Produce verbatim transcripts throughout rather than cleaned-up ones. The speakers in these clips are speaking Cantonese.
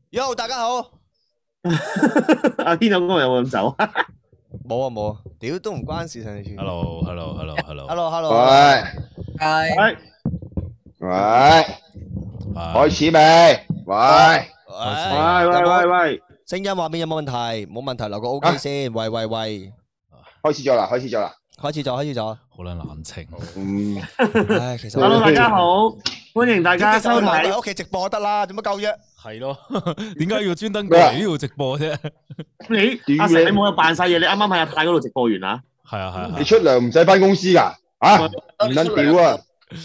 Yo，大家好。 阿軒有哥有冇咁走？ 冇啊冇啊，屌都唔關事上次。 Hello，hello，hello，hello。 Hello，hello。 喂係喂喂，開始未？喂， 喂喂喂喂喂， 聲音畫面有冇問題？冇問題，留個 OK 先。喂喂喂， 開始咗啦，開始咗啦。 開始咗，開始咗。 好撚冷清。 嗯， 唉，其實 Hello，大家好，歡迎大家其實我收睇。 喺屋企直播得啦，做乜鳩啫？ 係咯，點解要專登過嚟呢度直播啫？ 你阿成，你冇有扮晒嘢？你啱啱喺阿泰嗰度直播完啊係啊係啊你出糧唔使翻公司噶？啊，唔撚屌啊！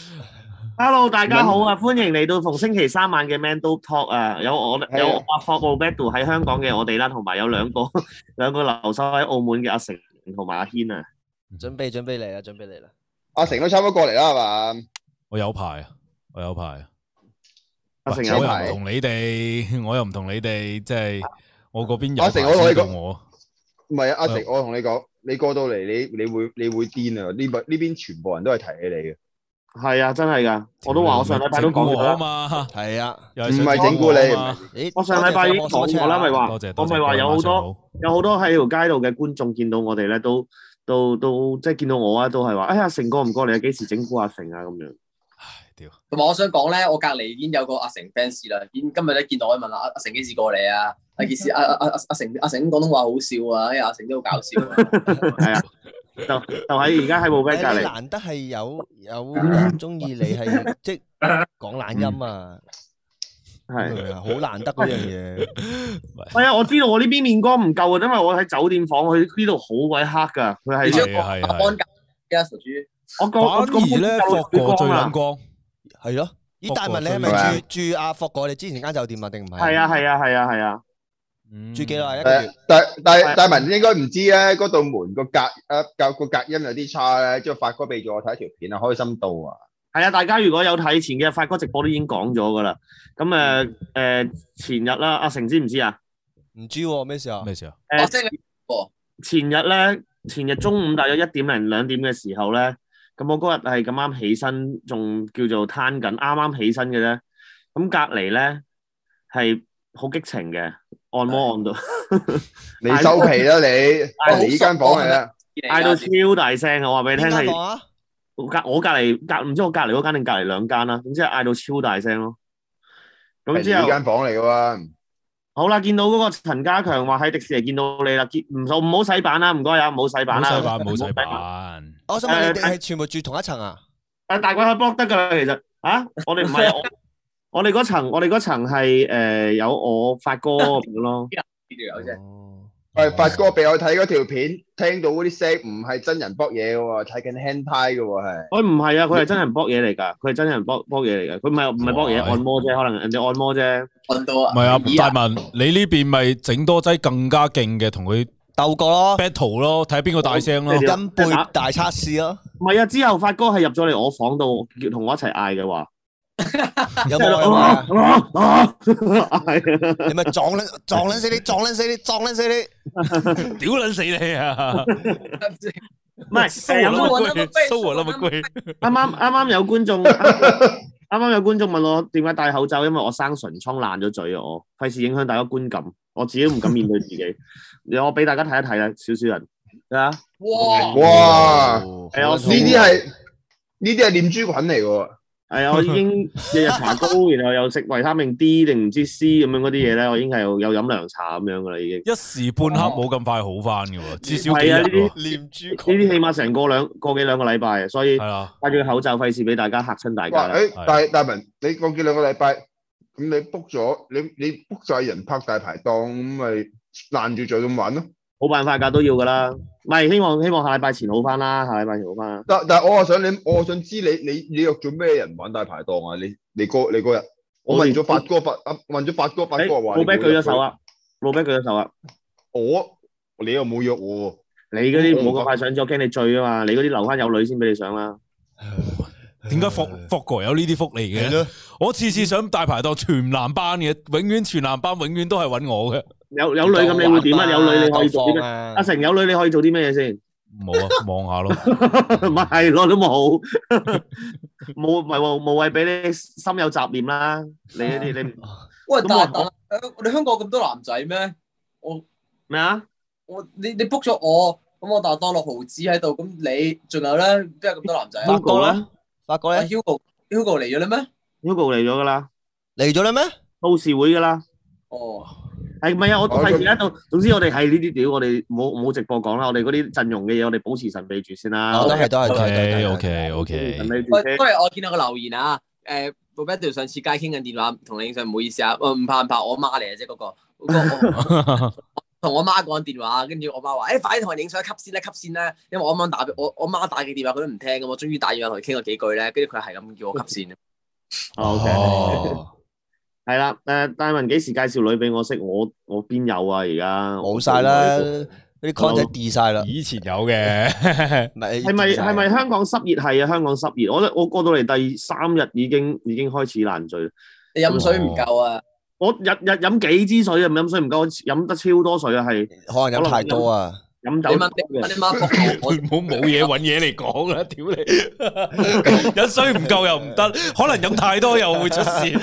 ？Hello，大家好啊，歡迎嚟到逢星期三晚嘅 Man Do Talk 啊！有我有阿霍奧 Beto 喺香港嘅我哋啦，同埋有兩個兩個留守喺澳門嘅阿成同埋阿軒啊。 準備準備嚟啦，準備嚟啦。 阿成都差唔多過嚟啦，係嘛？ 我有排啊，我有排啊。 阿成喂我又有排唔同你哋，我又唔同你哋，即係我嗰邊有阿成排我同你講先到我。 唔係啊，阿成，我同你講，你過到嚟，你你會你會癲啊！呢邊呢邊全部人都係提起你嘅， 係啊，真係噶，我都話我上禮拜都講咗整蠱我啊啦。 嘛， 係啊， 又唔係整蠱你你嘛。 咦， 我上禮拜已經講過啦，咪話多謝， 我多謝咪話有好各位晚上多有好多喺條街度嘅觀眾見到我哋咧，都都都即係見到我啊，都係話：哎呀，成哥唔過嚟啊，幾時整蠱阿成啊？咁樣。 唉，屌！ 同埋我想講咧，我隔離已經有個阿成 fans 啦，已經今日咧見到我問阿阿成幾時過嚟啊？阿幾時阿阿阿阿成阿成廣東話好笑啊，因為阿成都好搞笑啊。 係啊，就就喺而家喺部 b 隔誒你離。 難得係有有人中意你係即係講懶音啊， 係明唔明啊？好難得嗰樣嘢。 係啊，我知道我呢邊面光唔夠啊，因為我喺酒店房，佢呢度好鬼黑㗎，佢係你將個係啊係啊阿安格嘅傻豬， 我個反而咧，霍哥最撚光。 係咯。咦，大文你係係啊咪住住阿霍哥你之前間酒店啊？定唔係？ 係啊係啊係啊係啊， 嗯住幾耐？一個月誒，。但但大文應該唔知咧，嗰道門個隔誒隔個隔音有啲差咧，之後發哥俾咗我睇條片啊，開心到啊！ 係啊！大家如果有睇前嘅發哥直播都已經講咗㗎啦。咁誒誒前日啦，阿成知唔知啊？ 唔知喎，咩事啊？ 咩事啊？ 誒我識你喎， 前日咧，前日中午大約一點零兩點嘅時候咧，咁我嗰日係咁啱起身，仲叫做攤緊，啱啱起身嘅啫。咁隔離咧係好激情嘅，按摩按到你收皮啦你， 係你呢間房嚟啦， 嗌到超大聲啊！我話俾你聽係邊間房啊？ 我隔我隔離隔唔知我隔離嗰間定隔離兩間啦，總之係嗌到超大聲咯。咁係你之後呢間房嚟嘅喎。 好啦，見到嗰個陳家強話喺迪士尼見到你啦，見唔好唔好洗版啦，唔該啊，唔好洗版啦， 冇洗版，冇洗唔好版。 我想問你哋誒係全部住同一層啊？ 誒大鬼可以 block 得㗎啦，其實啊，我哋唔係我我哋嗰層，我哋嗰層係誒有我發哥咁樣咯。 呢條友啫。 哦喂，發哥俾我睇嗰條片，聽到嗰啲聲唔係真人搏嘢嘅喎，睇緊 hentai 嘅喎係。 佢唔係啊，佢係真人搏嘢嚟㗎，佢係真人搏搏嘢嚟㗎，佢唔係唔係搏嘢， 哇按摩啫，可能人哋按摩啫。 按到啊！ 唔係啊， 咦大文，你呢邊咪整多劑更加勁嘅，同佢鬥過咯， battle 咯，睇下邊個大聲咯。 你音背大測試咯， 唔係啊，之後發哥係入咗嚟我房度，叫同我一齊嗌嘅話， 有冇有冇啊？ 啊啊係啊， 你咪撞撚撞撚死你，撞撚死你，撞撚死你！ 屌撚死你啊！ 唔係誒有收我個啦乜龜，收我啦乜龜。 啱啱啱啱有觀眾，啱啱有觀眾問我點解戴口罩，因為我生唇瘡爛咗嘴啊，我費事影響大家觀感，我自己都唔敢面對自己。我俾大家睇一睇啦，少少人啊， 哇！ 哇！ 哦係啊我呢啲係呢啲係念珠菌嚟嘅喎。 係啊，我已經日日搽膏，然後又食維他命 D 定唔知 C 咁樣嗰啲嘢咧，我已經係有有飲涼茶咁樣噶啦，已經。 一時半刻冇咁快好翻嘅喎，至少幾係啊，呢日喎。 啲念珠呢啲起碼成個兩個幾兩個禮拜啊，所以係啊， 戴住個口罩，費事俾大家嚇親大家哇！ 啦。 誒， 係大大文，你講幾兩個禮拜，咁你 book 咗，你你 book 晒人拍大排檔，咁咪爛住再咁玩咯。 冇辦法㗎，都要㗎啦。唔係希望希望下禮拜前好翻啦，下禮拜前好翻啦。 但但係我話想你，我想知你你你約咗咩人玩大排檔啊？你你嗰你嗰日，我問咗發哥發啊，問咗發哥發誒， 哥話。 老啤舉咗手！啊！老啤舉咗手啊！ 我你又冇約我喎。 你嗰啲唔好咁快上咗，我驚你醉啊嘛！你嗰啲留翻有女先俾你上啦。 點解霍霍哥有呢啲福利嘅？我次次上大排檔全男班嘅，永遠全男班，永遠都係揾我嘅。 有有女咁你會點啊？有女你可以做啲咩？ 啊阿成有女你可以做啲咩嘢先？ 冇啊，望下咯。 咪係咯，都冇冇，唔係喎，無謂俾你心有雜念啦。你呢啲你喂， 咁我但但誒，我哋香港咁多男仔咩？我咩啊？ 我你你 book 咗我，咁我當當六毫子喺度，咁你仲有咧？邊有咁多男仔啊 Hugo 咧啊發覺咧 ？Hugo Hugo 嚟咗啦咩？ ？Hugo 嚟咗噶啦， 嚟咗啦咩？ 到時會噶啦。 哦， 係唔係啊？我我費事喺度。總之我哋係呢啲屌，我哋冇冇直播講啦。我哋嗰啲陣容嘅嘢，我哋保持神秘住先啦。 哦，都係都係都係都 OK 係 OK 保持 OK， 神秘住喂， 先。 不如我見到個留言啊，誒 Roberto 上次街傾緊電話，同你影相，唔好意思啊，唔怕唔怕，我媽嚟嘅啫嗰個，嗰個我同我媽講電話，跟住我媽話：誒快啲同人影相，吸線啦，吸線啦！因為我啱啱打俾我，我媽打嘅電話佢都唔聽咁，我終於打電話同佢傾咗幾句咧，跟住佢係咁叫我吸線。 OK。 哦， 係啦，誒，戴文幾時介紹女俾我識？我我邊有啊？而家冇晒啦，啲 content 跌晒啦。 以前有嘅， 唔係係咪係咪香港濕熱？係啊，香港濕熱。我我過到嚟第三日已經已經開始爛醉。 你飲水唔夠啊？ 我日日飲幾支水啊？唔飲水唔夠，我飲得超多水啊！係可能飲太多啊。 飲酒你問你問你媽仆我， 唔好冇嘢揾嘢嚟講啦，屌你！飲水唔夠又唔得，可能飲太多又會出事。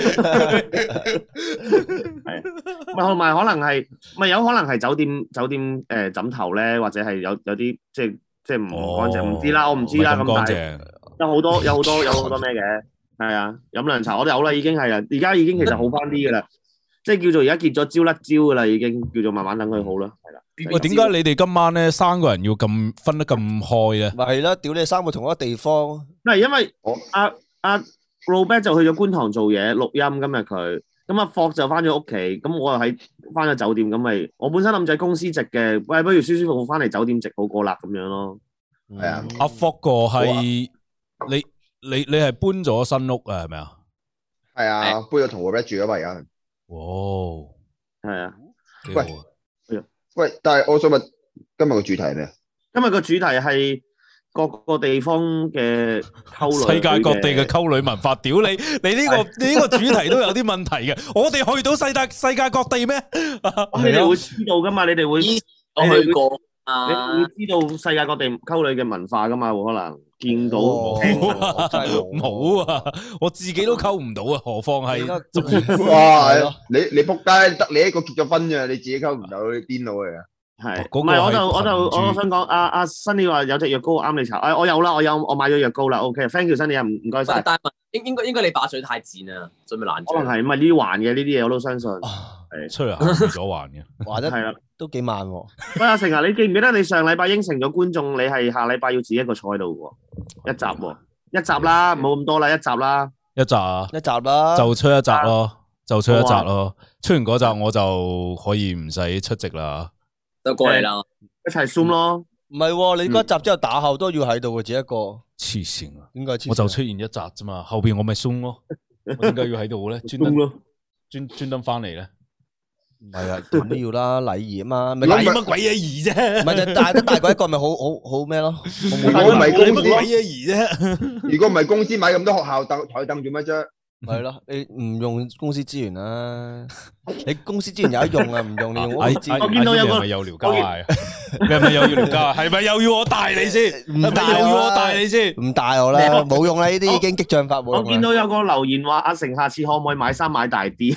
係，咪同埋可能係咪有可能係酒店酒店誒枕頭咧，或者係有有啲即係即係唔乾淨，唔知啦，我唔知啦。咁但係有好多有好多有好多咩嘅，係啊，飲涼茶我都有啦，已經係啦，而家已經其實好翻啲噶啦，即係叫做而家結咗焦甩焦噶啦，已經叫做慢慢等佢好啦，係啦。 喂，點解你哋今晚咧三個人要咁分得咁開咧？ 咪係啦，屌你三個同一個地方。 唔係因為阿阿 Robert 就去咗觀塘做嘢錄音，今日佢咁阿霍就翻咗屋企，咁我又喺翻咗酒店，咁咪我本身諗住喺公司直嘅，喂，不如舒舒服服翻嚟酒店直好過啦咁樣咯。 係啊， 阿霍哥係你你你係搬咗新屋啊？係咪啊？ 係啊，搬咗同 Robert 住啊嘛而家。 哦， 係啊， 幾好啊！ 喂，但係我想問今日個主題係咩啊？ 今日個主題係各個地方嘅溝女， 世界各地嘅溝女文化，屌你！你呢個你呢個主題都有啲問題嘅。我哋去到世界世界各地咩？ 咁你哋會知道噶嘛？你哋會我去過你啊， 會知道世界各地溝女嘅文化噶嘛？會可能見到哦聽到真係冇冇啊！我自己都溝唔到啊，何況係哇係咯！ 你你仆街，得你一個結咗婚啫，你自己溝唔到，你癲佬嚟㗎。 係， 嗰個唔係我就係我就群主我想講，阿阿新你話有隻藥膏啱你搽，誒我有啦，我有我買咗藥膏啦，OK，thank you 新你啊，唔唔該晒。 但係應應該應該你把嘴太賤啊，準備爛嘴。 可能係唔係呢啲環嘅呢啲嘢我都相信。 出嚟行咗還嘅。 話得係啦， 都幾慢喎。 喂阿成啊，你記唔記得你上禮拜應承咗觀眾，你係下禮拜要自己一個坐喺度喎，一集喎，一集啦，冇咁多啦，一集啦。 一集啊， 一集啦， 就出一集咯，就出一集好啊咯。出完嗰集我就可以唔使出席啦。 就過嚟啦。 一齊 zoom 咯。 唔係喎，你嗰一集之後打後都要喺度嘅，只一個。 黐線啊！ 點解黐線啊？ 我就出現一集啫嘛，後邊我咪鬆咯。我點解要喺度咧？專登咯， 專專登翻嚟咧？ 唔係啊，點都要啦，禮儀啊嘛。咪禮乜鬼嘢儀啫？ 唔係就大得大過一個咪好好好咩咯？ 如果唔係公司， 禮乜鬼嘢儀啫？ 如果唔係公司買咁多學校凳台凳做乜啫？ 係咯，你唔用公司資源啦，你公司資源有得用啊，唔用你用屋企資我源。 見到有個係咪有聊交嗌？你係咪又要聊交啊？係咪又要我帶你先？ 唔係咪又要我帶你先？ 唔帶我啦，冇用啦，呢啲已經激將法冇我見用啦。 到有個留言話阿成下次可唔可以買衫買大啲？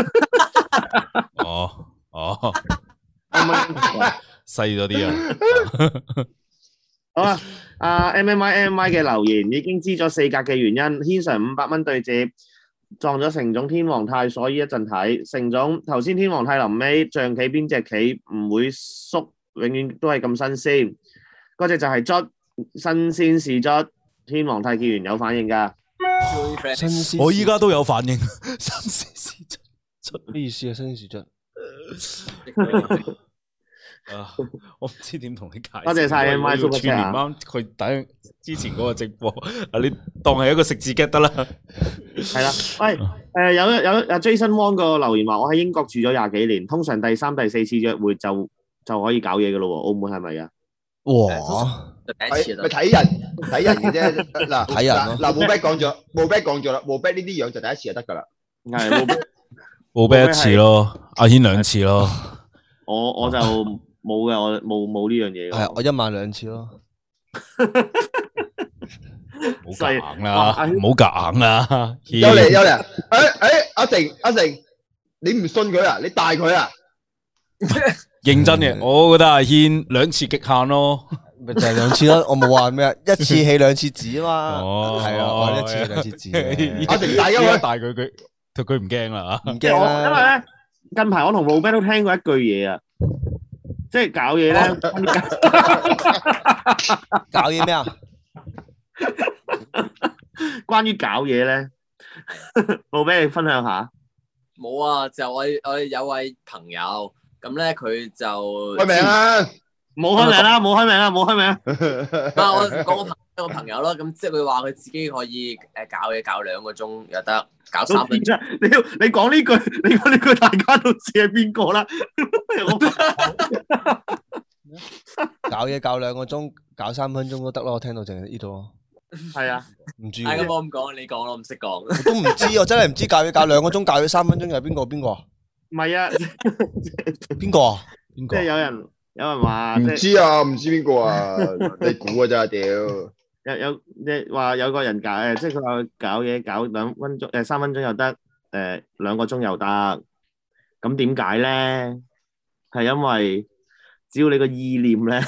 哦哦， 可唔可以細咗啲啊！ 好啊，阿 M M I M M I 嘅留言已經知咗四格嘅原因，軒 Sir 五百蚊對接撞咗成總天皇太，所以一陣睇成總頭先天皇太臨尾象棋邊隻棋唔會縮，永遠都係咁新鮮，嗰隻就係卒，新鮮是卒，天皇太結完有反應㗎。 新鮮我依家都有反應，新鮮事出咩意思啊？新鮮事出啊！我唔知點同你解釋。 多謝晒 M Y Super 串連啱佢等之前嗰個直播，啊你當係一個食字 get 得啦。 係啦，喂，誒有有阿 Jason Wong 個留言話：我喺英國住咗廿幾年，通常第三、第四次約會就就可以搞嘢㗎咯喎，澳門係咪啊？ 哇！ 睇第一次啊， 咪睇人睇人嘅啫。嗱睇人咯嗱嗱，冇 back 講咗，冇 back 講咗啦，冇 back 呢啲樣就第一次就得㗎啦。 係冇冇俾一次咯，阿軒兩次咯。 我我就冇嘅，我冇冇呢樣嘢嘅。 係我一晚兩次咯。 唔好夾硬啦，唔好夾硬啦。 有嚟有嚟，誒誒，阿成阿成， 你唔信佢啊？你帶佢啊？ 認真嘅，我覺得阿軒兩次極限咯。 咪就係兩次咯，我冇話咩，一次起兩次止啊嘛。 哦， 係啊，我一次起兩次止。 阿成帶咗佢， 帶佢佢佢唔驚啦唔即係我因為驚啦。 咧近排我同 Robert 都聽過一句嘢啊，即係搞嘢咧， 搞嘢咩啊？ 關於搞嘢咧，Robert 你分享下。 冇啊，就我我有位朋友，咁咧佢就開名啊！ 冇開名啦，冇開名啦，冇開名。 唔係我講我朋一個朋友咯，咁即係佢話佢自己可以誒搞嘢搞兩個鐘又得，搞三分鐘。 你你講呢句，你講呢句，大家都知係邊個啦。 搞嘢搞兩個鐘，搞三分鐘都得咯。我聽到淨係呢度。 係啊， 唔知係咁， 喎， 我咁講，你講咯，唔識講。 我都唔知，我真係唔知搞嘢搞兩個鐘，搞嘢三分鐘又係邊個？邊個啊？ 唔係啊， 邊個啊？邊即個啊？ 係有人有人話， 唔即係知啊，唔知邊個啊？你估啊咋屌！ 有有即係話有個人搞誒，即係佢話搞嘢搞兩分鐘誒三分鐘又得，誒兩個鐘又得。咁點解咧？係因為只要你個意念咧，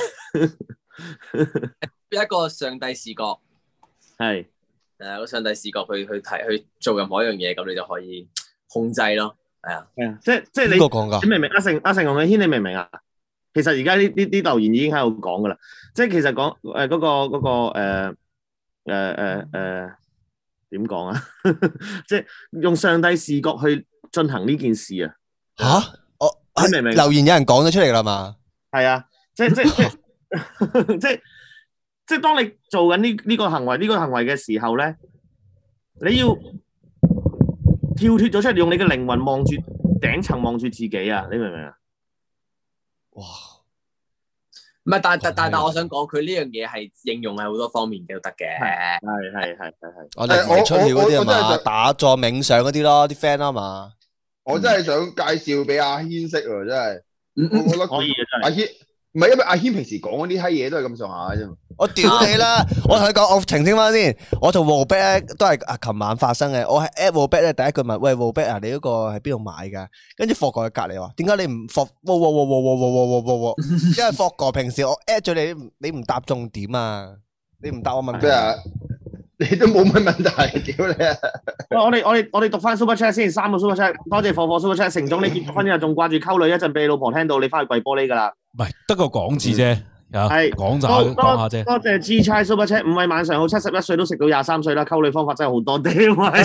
一個上帝視角， 係誒個上帝視角去去睇去做任何一樣嘢，咁你就可以控制咯。係啊， 係啊，即係即係邊個講㗎你你明唔明？阿成阿成同阿軒，你明唔明啊？其實而家呢呢啲留言已經喺度講噶啦，即係其實講誒嗰個嗰個誒誒誒誒點講啊？即係用上帝視角去進行呢件事啊！ 吓？我你明唔明留言有人講咗出嚟啦嘛？ 係啊，即係即係即係即係即係當你做緊呢呢個行為呢個行為嘅時候咧，你要跳脫咗出嚟，用你嘅靈魂望住頂層望住自己啊！你明唔明啊？ 哇！ 唔係，但但但但我想講，佢呢樣嘢係應用喺好多方面嘅都得嘅。 係係係係係。 我哋唔出竅嗰啲係我我我真係嘛？ 想打坐冥想嗰啲咯，啲 friend 啊嘛。 我真係想介紹俾阿軒識喎，真係。 嗯我覺得可以嘅真係阿軒唔係因為阿軒平時講嗰啲閪嘢都係咁上下嘅啫嘛。 我屌你啦！我同你講，我澄清翻先，我同 Robert 咧都係啊，琴晚發生嘅。我係 at Robert 咧，第一句問：喂 Robert 啊，你嗰個喺邊度買㗎？跟住霍哥喺隔離話：點解你唔霍？哇哇哇哇哇哇哇哇哇！因為霍哥平時我 at 咗你，你唔答重點啊，你唔答我問題咩啊？你都冇乜問題，屌你啊！ 喂，我哋我哋我哋讀翻 Super Chat 先，三個 Super Chat，多謝火火 Super Chat。成總你結咗婚之後仲掛住溝女，一陣俾你老婆聽到，你翻去跪玻璃㗎啦。 唔係得個講字啫，啊係講咋多講下啫。 多謝 G 差 Super Chat，五位晚上好，七十一歲都食到廿三歲啦，溝女方法真係好多啲啊！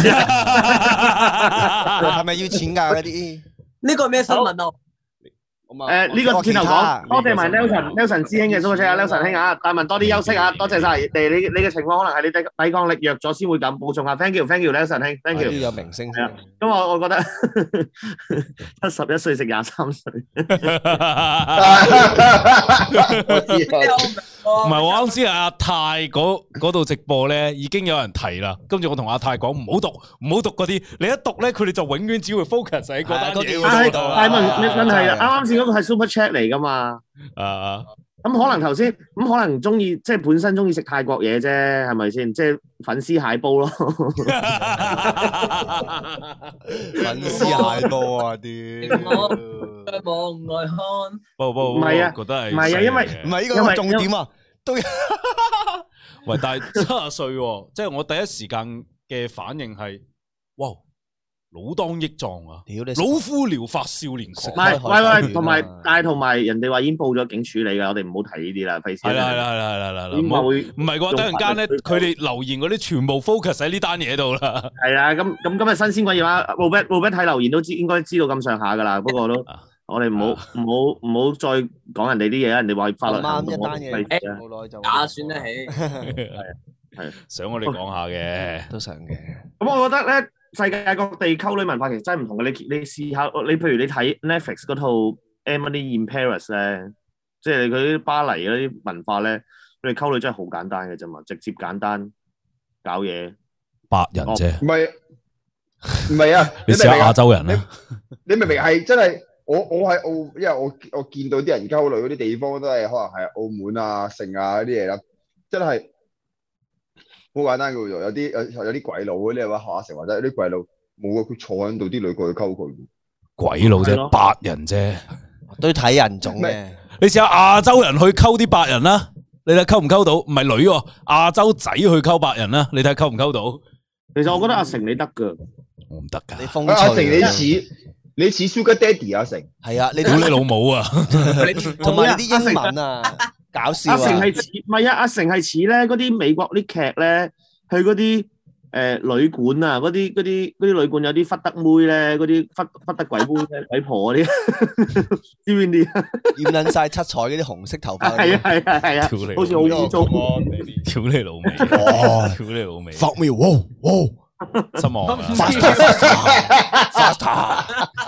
係咪要錢㗎嗰啲？ 呢個係咩新聞啊？ 誒呢個轉頭講，多謝埋 Nelson Nelson 師兄嘅 Super Chat 啊，Nelson 兄啊，大文多啲休息啊，多謝晒。誒你你嘅情況可能係你抵抵抗力弱咗先會咁，補充下 Thank you Thank you Nelson 兄 Thank 都 you。 要有明星先。 咁我我覺得七十一歲食廿三歲， 我知唔係我啱先阿泰嗰嗰度直播咧，已經有人提啦。跟住我同阿泰講唔好讀，唔好讀嗰啲。你一讀咧，佢哋就永遠只會 focus 喺嗰單嘢嗰係度。 係問問題啊！啱啱先嗰個係 Super Chat 嚟噶嘛？ 啊， 咁可能頭先咁可能中意即係本身中意食泰國嘢啫，係咪先？即係粉絲蟹煲咯。 粉絲蟹多啊啲。 望外看， 不不唔係啊覺得係唔係啊因為唔係呢個係重點啊，都喂，但係七十歲喎，即係我第一時間嘅反應係，哇，老當益壯啊！ 屌你老夫聊發少年狂唔。係，喂喂， 開海豚同埋啊但係同埋人哋話已經報咗警處理㗎，我哋唔好提呢啲啦，費事。 係啦係啦係啦係啦係啦，唔好點話會唔係嘅話，等陣間咧，佢哋留言嗰啲全部 focus 喺呢單嘢度啦。 係啊，咁咁今日新鮮滾熱話，Robert Robert 睇留言都知應該知道咁上下㗎啦，不過都。我哋唔好唔好唔好再講人哋啲嘢，人哋話法律行動， 啱一單嘢我費事啊冇耐就打算得起。 係想我哋講下嘅， 都想嘅。 咁我覺得咧，世界各地溝女文化其實真係唔同嘅。你你試下，你譬如你睇 Netflix 嗰套《Emily in Paris》咧，即係佢啲巴黎嗰啲文化咧，佢哋溝女真係好簡單嘅啫嘛，直接簡單搞嘢。 白人啫， 唔係唔係啊！ 你試下亞洲人啦。 你明唔明係真係？我我喺澳，因為我我見到啲人溝女嗰啲地方都係可能係澳門啊、城啊嗰啲嘢啦，真係好簡單嘅喎。有啲有有啲鬼佬嗰啲話學阿成或者有啲鬼佬冇啊，佢坐喺度，啲女過去溝佢。 鬼佬啫， 係咯白人啫。 都要睇人種嘅。 你試下亞洲人去溝啲白人啦，你睇溝唔溝到？唔係女喎，亞洲仔去溝白人啦，你睇溝唔溝到？ 其實我覺得阿成你得噶， 我唔得噶。 你風阿成你趣啊似你似 Sugar Daddy 阿成， 係啊，你屌你老母啊！ 同埋你啲英文啊，搞笑啊！ 阿成係似唔係啊？阿成係似咧嗰啲美國啲劇咧，去嗰啲誒旅館啊，嗰啲嗰啲嗰啲旅館有啲忽得妹咧，嗰啲忽忽得鬼妹咧，鬼婆嗰啲，知唔知邊啲啊？ 染撚晒七彩嗰啲紅色頭髮嗰啲。 係啊係啊係啊， 屌你好似好污糟。 屌你老味， 哦屌你老味， Fuck me，wow wow 失望啊！ faster faster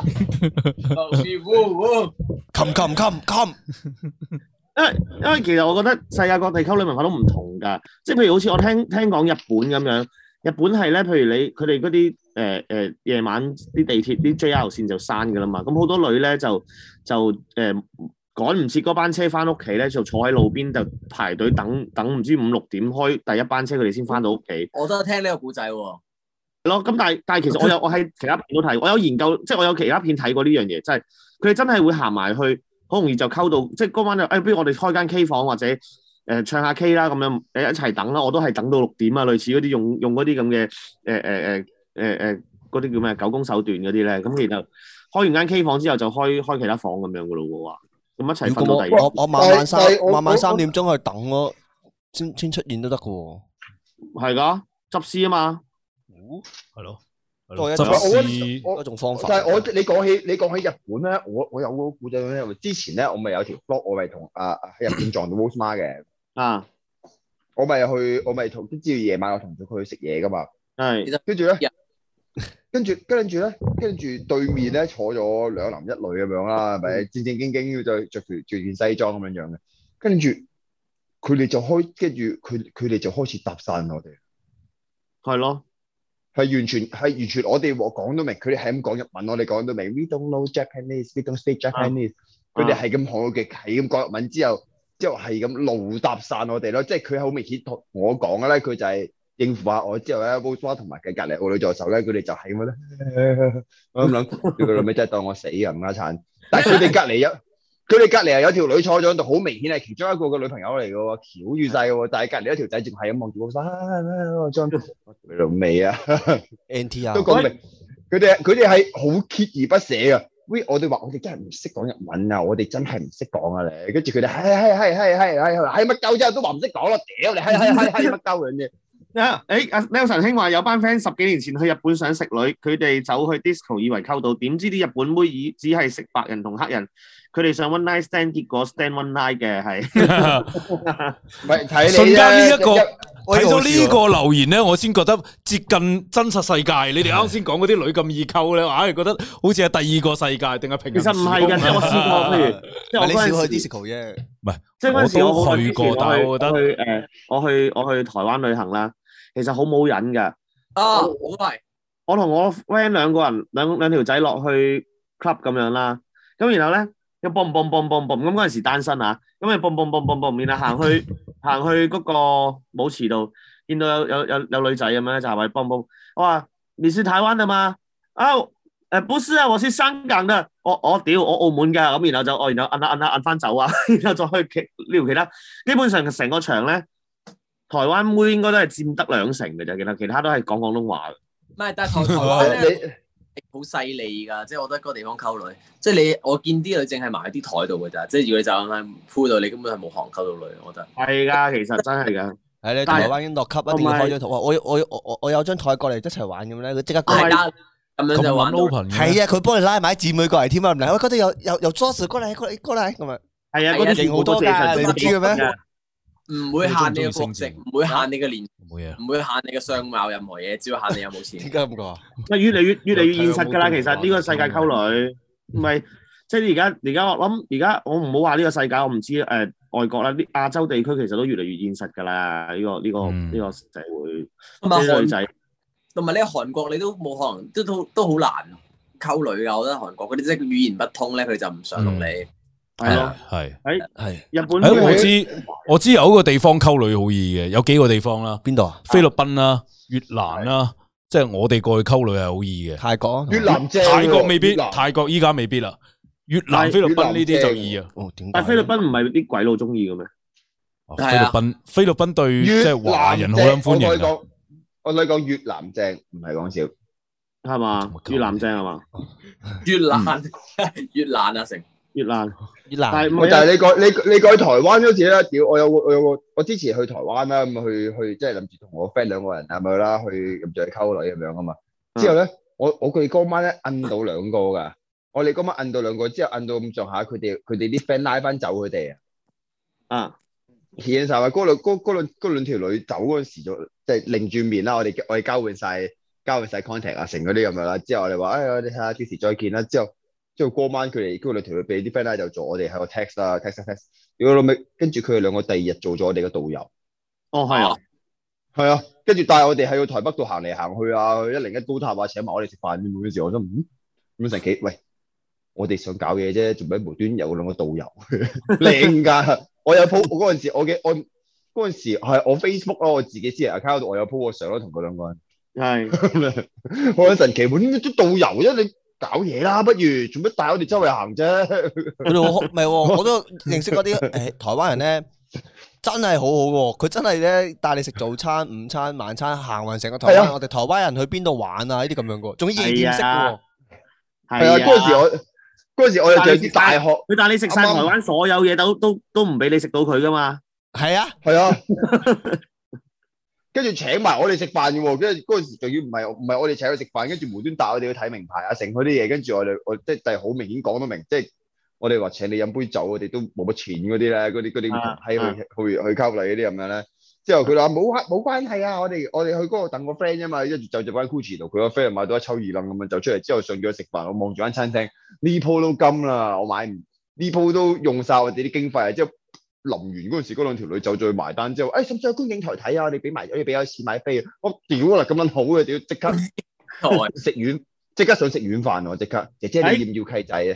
come come come come。 因為因為其實我覺得世界各地溝女文化都唔同㗎，即係譬如好似我聽聽講日本咁樣，日本係咧，譬如你佢哋嗰啲誒誒夜晚啲地鐵啲 J R 線就閂㗎啦嘛，咁好多女咧就就誒、呃、趕唔切嗰班車翻屋企咧，就坐喺路邊就排隊等等唔知五六點開第一班車，佢哋先翻到屋企。 我都聽呢個故仔喎。 咯，咁但係但係其實我有我喺其他片都睇，我有研究，即係我有其他片睇過呢樣嘢，即係佢哋真係會行埋去，好容易就溝到，即係嗰晚就誒，不如我哋開間 K 房或者誒、呃、唱下 K 啦，咁樣誒一齊等啦，我都係等到六點啊，類似嗰啲用用嗰啲咁嘅誒誒誒誒誒嗰啲叫咩狗公手段嗰啲咧，咁然後開完間 K 房之後就開開其他房咁樣噶咯喎，咁一齊如瞓到第二果我我我晚晚三但係我晚晚三我點鐘去等咯，先先出現都得噶喎。 係㗎，執屍啊嘛。 係咯，係多一咯執我屍我一種方法。 但係我你講起你講起日本咧，我我有個故仔咧，之前咧我咪有條 blog，我咪同啊喺日本撞到 Rose Ma 嘅， 啊， 我咪去我咪同知道夜晚我同咗佢去食嘢噶嘛， 係跟住咧，跟住跟住咧，跟住對面咧坐咗兩男一女咁樣啦，係咪正正經經要着着條着件西裝咁樣樣嘅，跟住佢哋就開，跟住佢佢哋就開始搭訕我哋。 係咯， 係完全係完全我哋講到明，佢哋係咁講日文，我哋講到明。We don't know Japanese, we don't speak Japanese。佢哋係咁學嘅，係咁講日文之後，之後係咁怒搭訕我哋咯。即係佢好明顯同我講嘅咧，佢就係應付下我之後咧 Rose Ma 同埋佢隔離我女助手咧，佢哋就係咁咧。我咁諗，佢老味真係當我死咁啦慘。但係佢哋隔離有。佢哋隔離係有條女坐咗喺度，好明顯係其中一個嘅女朋友嚟嘅喎，翹住晒嘅喎。但係隔離一條仔仲係咁望住我身，我將佢老味啊 N T R 都講明，佢哋佢哋係好鍥而不捨嘅。喂，我哋話我哋真係唔識講日文啊，我哋真係唔識講啊你。跟住佢哋係係係係係係係乜鳩啫，都話唔識講咯，屌你係係係係乜鳩嘅啫。 啊！誒阿 Nelson 兄話有班 friend 十幾年前去日本想食女，佢哋走去 disco 以為溝到，點知啲日本妹以只係食白人同黑人，佢哋上 one night stand 結果 stand one night 嘅係。 唔係睇你瞬間呢一個一睇到呢個留言咧，我先覺得接近真實世界。你哋啱先講嗰啲女咁易溝咧，我硬係覺得好似係第二個世界定係平行時空。 其實唔係㗎，即係我試過，譬如即係我你少去嗰陣時 disco 啫。 唔係， 即係嗰陣時我好耐之前我都去過，但係我覺得我去誒，我去我去台灣旅行啦，其實好冇癮㗎。 啊，我都係。 我同我 friend 兩個人兩兩條仔落去 club 咁樣啦，咁然後咧又 boom boom boom boom boom 咁嗰陣時單身啊，咁啊 boom boom boom boom boom，然後行去行去嗰個舞池度，見到有有有有女仔咁樣咧就係話 boom boom，我話你是台灣的嗎？啊誒，不是啊，我是香港的，我我屌我澳門㗎，咁然後就我然後摁下摁下摁翻走啊，然後再去其撩其他，基本上成個場咧，台灣妹應該都係佔得兩成嘅啫，其他其他都係講廣東話嘅。 唔係，但係台台灣咧你好細膩㗎，即係我覺得嗰個地方溝女，即係你我見啲女淨係埋喺啲台度㗎咋，即係如果你就咁喺鋪度，你根本係冇可能溝到女，我覺得。 係㗎，其實真係㗎。 係你台灣已經落級，一定要開張台。我我我我我有張台過嚟一齊玩咁咧，佢即刻過嚟。 大家咁樣就玩到。 open 嘅。 係啊，佢幫你拉埋啲姊妹過嚟添啊，唔嚟喂嗰度有有有 Joss 過嚟過嚟過嚟咁啊。 係啊， 係啊嗰啲勁好多㗎你唔知嘅咩？ 唔會限你嘅國籍，唔會限你嘅年， 冇嘢。 唔會限你嘅相貌，任何嘢，只要限你有冇錢。 點解咁講啊？ 咪越嚟越越嚟越現實㗎啦。 睇下其實呢個世界溝女，唔係即係而家而家我諗而家我唔好話呢個世界，我唔知誒、呃、外國啦，啲亞洲地區其實都越嚟越現實㗎啦。呢、呢個呢、呢個呢、 嗯、 個社會， 同埋韓啲女仔同埋你喺韓國你都冇可能，都都都好難溝女㗎。我覺得韓國嗰啲即係語言不通咧，佢就唔想同你。 係咯， 係。 喺係日本誒，我妹知我知有一個地方溝女好易嘅，有幾個地方啦， 邊度啊？ 菲律賓啦、越南啦、 即係我哋過去溝女係好易嘅。 泰國越南正喎， 泰國未必， 越南泰國依家未必啦。越南、菲律賓呢啲就易啊。 哦，點解？ 但菲律賓唔係啲鬼佬中意嘅咩？ 菲律賓，菲律賓對即越係華人好南正撚歡迎啊。 我同你講，我同你講越南正，唔係講笑。 係嘛？越南正係嘛？ 越南越南啊成越南越南但係唔係我就係你過你你過去台灣嗰時咧，屌我有個我有個我之前去台灣啦，咁去去即係諗住同我 friend 兩個人係咪啦，去諗住去溝女咁樣啊嘛。之後咧，我我佢嗰晚咧摁到兩個㗎，我哋嗰晚摁到兩個，之後摁到咁上下，佢哋佢哋啲 friend 拉翻走佢哋啊。 啊， 顯晒話嗰兩嗰嗰兩嗰兩條女走嗰陣時就即係擰住面啦，我哋我哋交換晒交換晒 contact 啊，成嗰啲咁樣啦。之後我哋話，哎，我哋睇下幾時再見啦。之後之後嗰晚佢哋嗰兩條女俾啲 friend 拉就做，我哋喺個 text 啦 text text。如果老尾跟住佢哋兩個第二日做咗我哋嘅導遊。 哦係啊， 係啊，跟住帶我哋喺個台北度行嚟行去啊，去一零一高塔啊，請埋我哋食飯咁嗰時，我都唔咁神奇。喂，我哋想搞嘢啫，做咩無端有兩個導遊靚㗎？我有 po 嗰陣時，我嘅我嗰陣時係我 Facebook 咯，我自己私人 account 度我有 po 個相咯，同佢兩個人。 係我好神奇，揾啲導遊啫，你搞嘢啦，不如做乜帶我哋周圍行啫？ 佢哋好唔係喎，我都認識嗰啲誒台灣人咧，真係好好喎。佢真係咧帶你食早餐、午餐、晚餐，行勻成個台灣。 係啊我哋台灣人去邊度玩啊？呢啲咁樣嘅，仲要夜店式嘅喎。 係啊，嗰陣時我嗰陣時我哋仲有啲大學， 佢帶你食晒台啱啱灣所有嘢，都都都唔俾你食到佢噶嘛。 係啊， 係啊，跟住請埋我哋食飯嘅喎，跟住嗰陣時仲要唔係唔係我哋請佢食飯，跟住無端帶我哋去睇名牌啊，成嗰啲嘢，跟住我哋我即係好明顯講到明，即係我哋話請你飲杯酒，我哋都冇乜錢嗰啲咧，嗰啲嗰啲喺去去去溝女嗰啲咁樣咧。之後佢話冇冇關係啊，我哋我哋去嗰度等個 friend 啫嘛，跟住就就翻 Gucci 度，佢個 friend 買到一抽二冧咁樣就出嚟，之後上咗去食飯，我望住間餐廳，呢鋪都金啦，我買唔呢鋪都用晒我哋啲經費啊，之後臨完嗰陣時，嗰兩條女就再埋單之後，誒使唔使去觀景台睇啊？我哋俾埋，我哋俾咗錢買飛啊！我屌啦，咁撚好嘅，屌即刻食軟，即刻想食軟飯喎！即刻，姐姐你要唔要契仔啊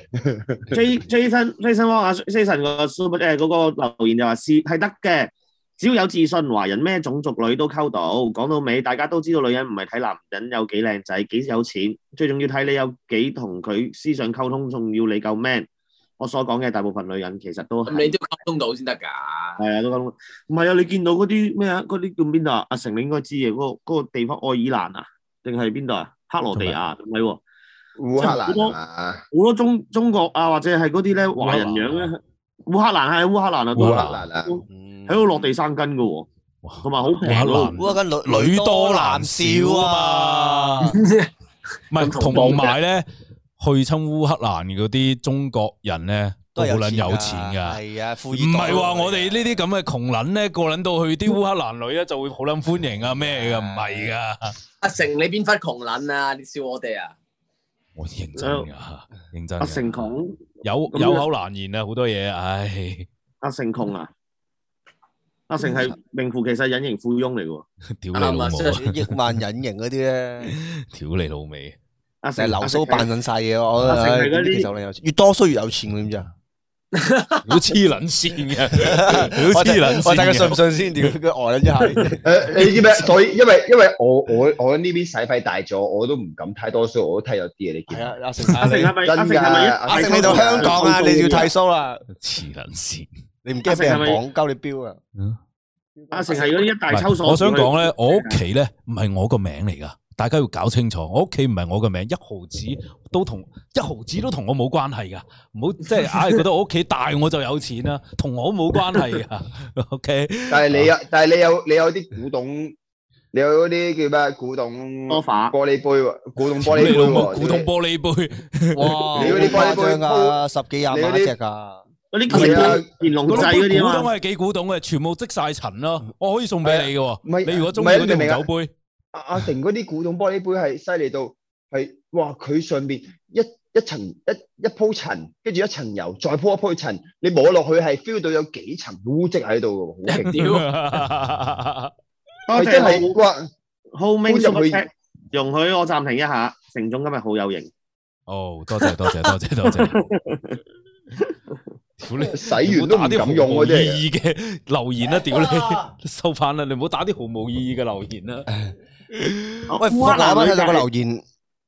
J Jason Jason Wong 啊 Jason 個 super 誒嗰個留言就話是係得嘅，只要有自信，華人咩種族女都溝到。講到尾，大家都知道女人唔係睇男人有幾靚仔、幾有錢，最重要睇你有幾同佢思想溝通，仲要你夠 man。我所講嘅大部分女人其實都係咁你都溝通到先得㗎。 係啊，都溝通。唔係啊，你見到嗰啲咩啊？嗰啲叫邊度啊？阿成你應該知嘅，嗰、個嗰個地方愛爾蘭啊，定係邊度啊？克羅地亞唔係喎， 烏克蘭好多啊， 好多中中國啊，或者係嗰啲咧華人樣咧，烏克蘭係烏克蘭啊，都烏克係蘭啊， 喺度落地生根嘅喎，同埋好平咯。 烏克蘭女女多男少啊嘛，唔係同埋咧，去親烏克蘭嗰啲中國人咧都好撚有錢噶， 係啊，富二代唔係話我哋呢啲咁嘅窮撚咧，過撚到去啲烏克蘭女咧就會好撚歡迎啊咩噶，唔係噶。 阿成你邊忽窮撚啊？你笑我哋啊？ 我認真噶，認真㗎。 阿成窮， 有有口難言啊，好多嘢，唉。 阿成窮啊！阿成係名副其實隱形富翁嚟嘅喎。 屌你老母啊！ 億萬隱形嗰啲咧， 屌你老味。 阿成成日流蘇扮緊晒嘢，我阿成係嗰啲其實我有錢，越多衰越有錢，知唔知啊？ 好黐撚線嘅，好黐撚線我睇佢信唔嘅。 信先，屌佢呆咗一下。 誒，你知咩？所以因為因為我我我呢邊使費大咗，我都唔敢太多須，我都剃咗啲嘢，你見係啊，阿成阿成係咪？阿成係咪一？ 阿成你到香港啊，你要剃須啦， 黐撚線。 你唔驚俾人綁鳩你標啊？ 阿成係嗰啲一大抽鎖。 我想講咧，我屋企咧唔係我個名嚟噶，大家要搞清楚。我屋企唔係我個名，一毫子都同一毫子都同我冇關係噶。唔好即係硬係覺得我屋企大我就有錢啦，同我冇關係噶。OK， 但係你有，但係你有你有啲古董，你有嗰啲叫咩？古董多法玻璃杯喎，古董玻璃杯你老母喎， 古董玻璃杯， 哇， 你嗰啲玻璃杯誇張㗎，十幾廿萬一隻㗎。 嗰啲係啊乾隆嗰仔嗰啲啊嘛。 古董係幾古董嘅，全部積晒塵咯。我可以送俾你嘅喎。 唔係你如果中意嗰啲紅酒杯， 阿阿成嗰啲古董玻璃杯係犀利到係，哇！佢上邊一一層一一鋪塵，跟住一層油，再鋪一鋪塵，你摸落去係 feel 到有幾層污跡喺度嘅，好勁！ 屌， 多係真謝係哇！ Homing 搬入 Super 去 Chat，容許我暫停一下。成總今日好有型。 哦，多謝多謝多謝多謝。屌你！ 洗完都唔敢用嗰啲嚟嘅意義嘅留言啦，屌你！收翻啦，你唔好打啲毫無意義嘅留言啦。 喂，我啱啱睇到個留言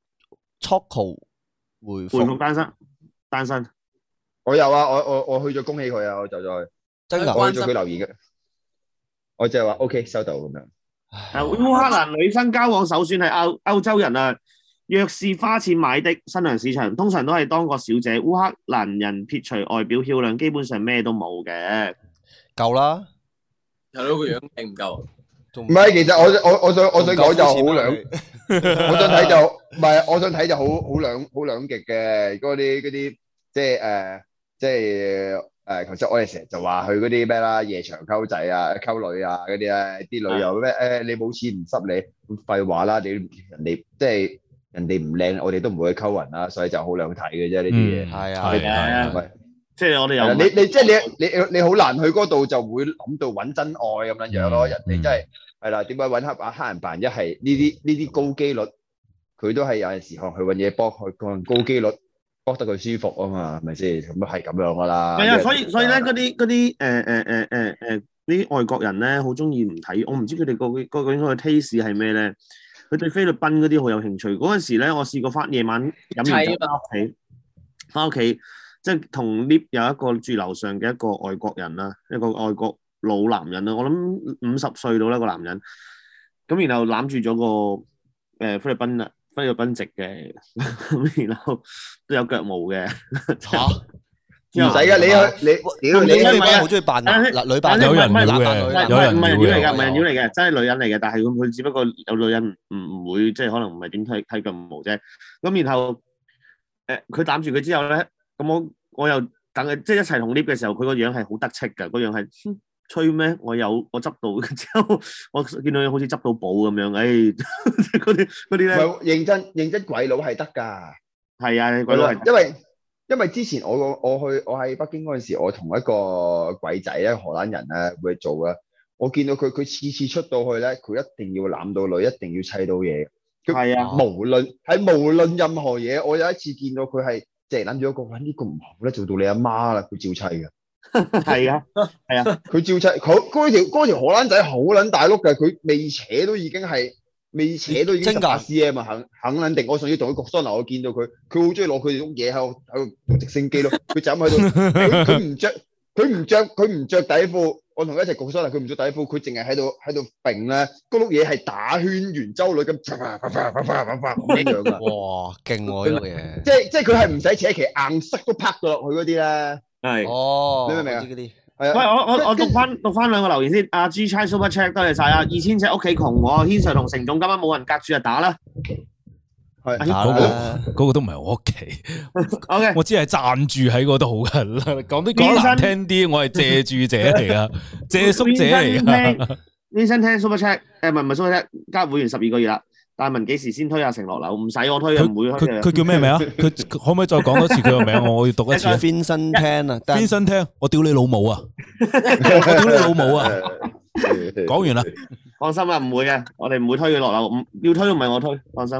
，Choco 回回覆復單身，單身。 我有啊，我我我去咗恭喜佢啊，我就再真㗎， 我去咗佢留言嘅，我就係話 OK 收到咁樣。 啊，烏克蘭女生交往首選係歐歐洲人啊，若是花錢買的新娘市場，通常都係當個小姐。烏克蘭人撇除外表漂亮，基本上咩都冇嘅。 夠啦， 係咯，個樣勁唔夠。 唔唔係，其實我我我想我想講就好兩， 兩， 我想睇就唔係，我想睇就好好兩好兩極嘅嗰啲嗰啲即係誒即係誒，頭先我哋成日就話去嗰啲咩啦，夜場溝仔啊、溝女啊嗰啲咧，啲女又咩誒你冇錢唔濕你，廢話啦，你人哋即係人哋唔靚，我哋都唔會去溝人啦，所以就好兩睇嘅啫呢啲嘢。 係啊， 係係啊係咪？ 即係我哋又係啦，你你即係你你你好難去嗰度就會諗到揾真愛咁樣樣咯，人哋真係係啦，點解揾黑啊黑人扮一係呢啲呢啲高機率，佢都係有陣時可能去揾嘢幫佢，可能高機率幫得佢舒服啊嘛，係咪先？咁都係咁樣噶啦。 係啊，所以所以咧嗰啲嗰啲誒誒誒誒誒啲外國人咧好中意唔睇，我唔知佢哋個個個應該嘅 taste 係咩咧？佢對菲律賓嗰啲好有興趣。嗰陣時咧，我試過翻夜晚飲完酒翻屋企，翻屋企。即係同 lift 有一個住樓上嘅一個外國人啦，一個外國老男人啦，我諗五十歲到啦個男人，咁然後攬住咗個誒、呃、菲律賓啊菲律賓籍嘅，咁然後都有腳毛嘅嚇， 唔使噶，你去你屌你你係咪啊好中意扮男男女扮有人男妖嘅扮女， 唔係有人唔係人妖嚟㗎， 妖嘅唔係人妖嚟嘅，真係女人嚟嘅，但係佢佢只不過有女人唔唔會即係可能唔係點睇睇腳毛啫，咁然後誒佢攬住佢之後咧。咁我我又等佢即係一齊同 lift 嘅時候，佢個樣係好得戚㗎，個樣係吹咩？我有我執到之後，我見到佢好似執到寶咁樣，誒嗰啲嗰啲咧， 唔係認真認真鬼佬係得㗎， 係啊，鬼佬係， 因為因為之前我我去我喺北京嗰陣時，我同一個鬼仔咧荷蘭人咧會做嘅，我見到佢佢次次出到去咧，佢一定要攬到女，一定要砌到嘢， 係啊， 無論係無論任何嘢，我有一次見到佢係。即係諗住一個，哇！呢個唔好咧，做到你阿媽啦，佢照砌嘅。 係啊，係啊， 佢照砌，佢嗰條嗰條荷蘭仔好撚大碌嘅，佢未扯都已經係未扯都已經十八 cm 啊，肯肯撚定。我上次同佢焗桑拿，我見到佢，佢好中意攞佢哋種嘢喺度喺度做直升機咯。佢就咁喺度，佢佢唔着，佢唔着，佢唔着底褲。我同佢一齊焗桑拿，佢唔着底褲，佢淨係喺度喺度揈咧，嗰碌嘢係打圈圓周率咁，啪啪啪啪啪啪啪咁樣噶。 哇，勁喎呢個嘢！ 即係即係佢係唔使扯旗，硬塞都拍到落去嗰啲咧。 係。 哦， 你明唔明啊？ 嗰啲喂，我我我讀翻讀翻兩個留言先。阿 G Chai Super Chat 多謝晒啊！二千尺屋企窮喎，軒 Sir 同成總今晚冇人隔住就打啦。 係打嗰個啦， 嗰個都唔係我屋企， OK， 我只係暫住喺嗰度噶。講啲講難聽啲，我係借住者嚟噶，借宿者嚟噶。 Vincent 聽 Super Chat，誒唔係唔係 Super Chat，加會員十二個月啦。大文幾時先推阿成落樓？唔使我推，唔會佢推嘅。 佢佢叫咩名啊？佢可唔可以再講多次佢個名？我我要讀一次。 Vincent Tan 啊 ，Vincent Tan，我屌你老母啊！我屌你老母啊！講完啦。 放心啦，唔會嘅，我哋唔會推佢落樓，唔要推都唔係我推，放心。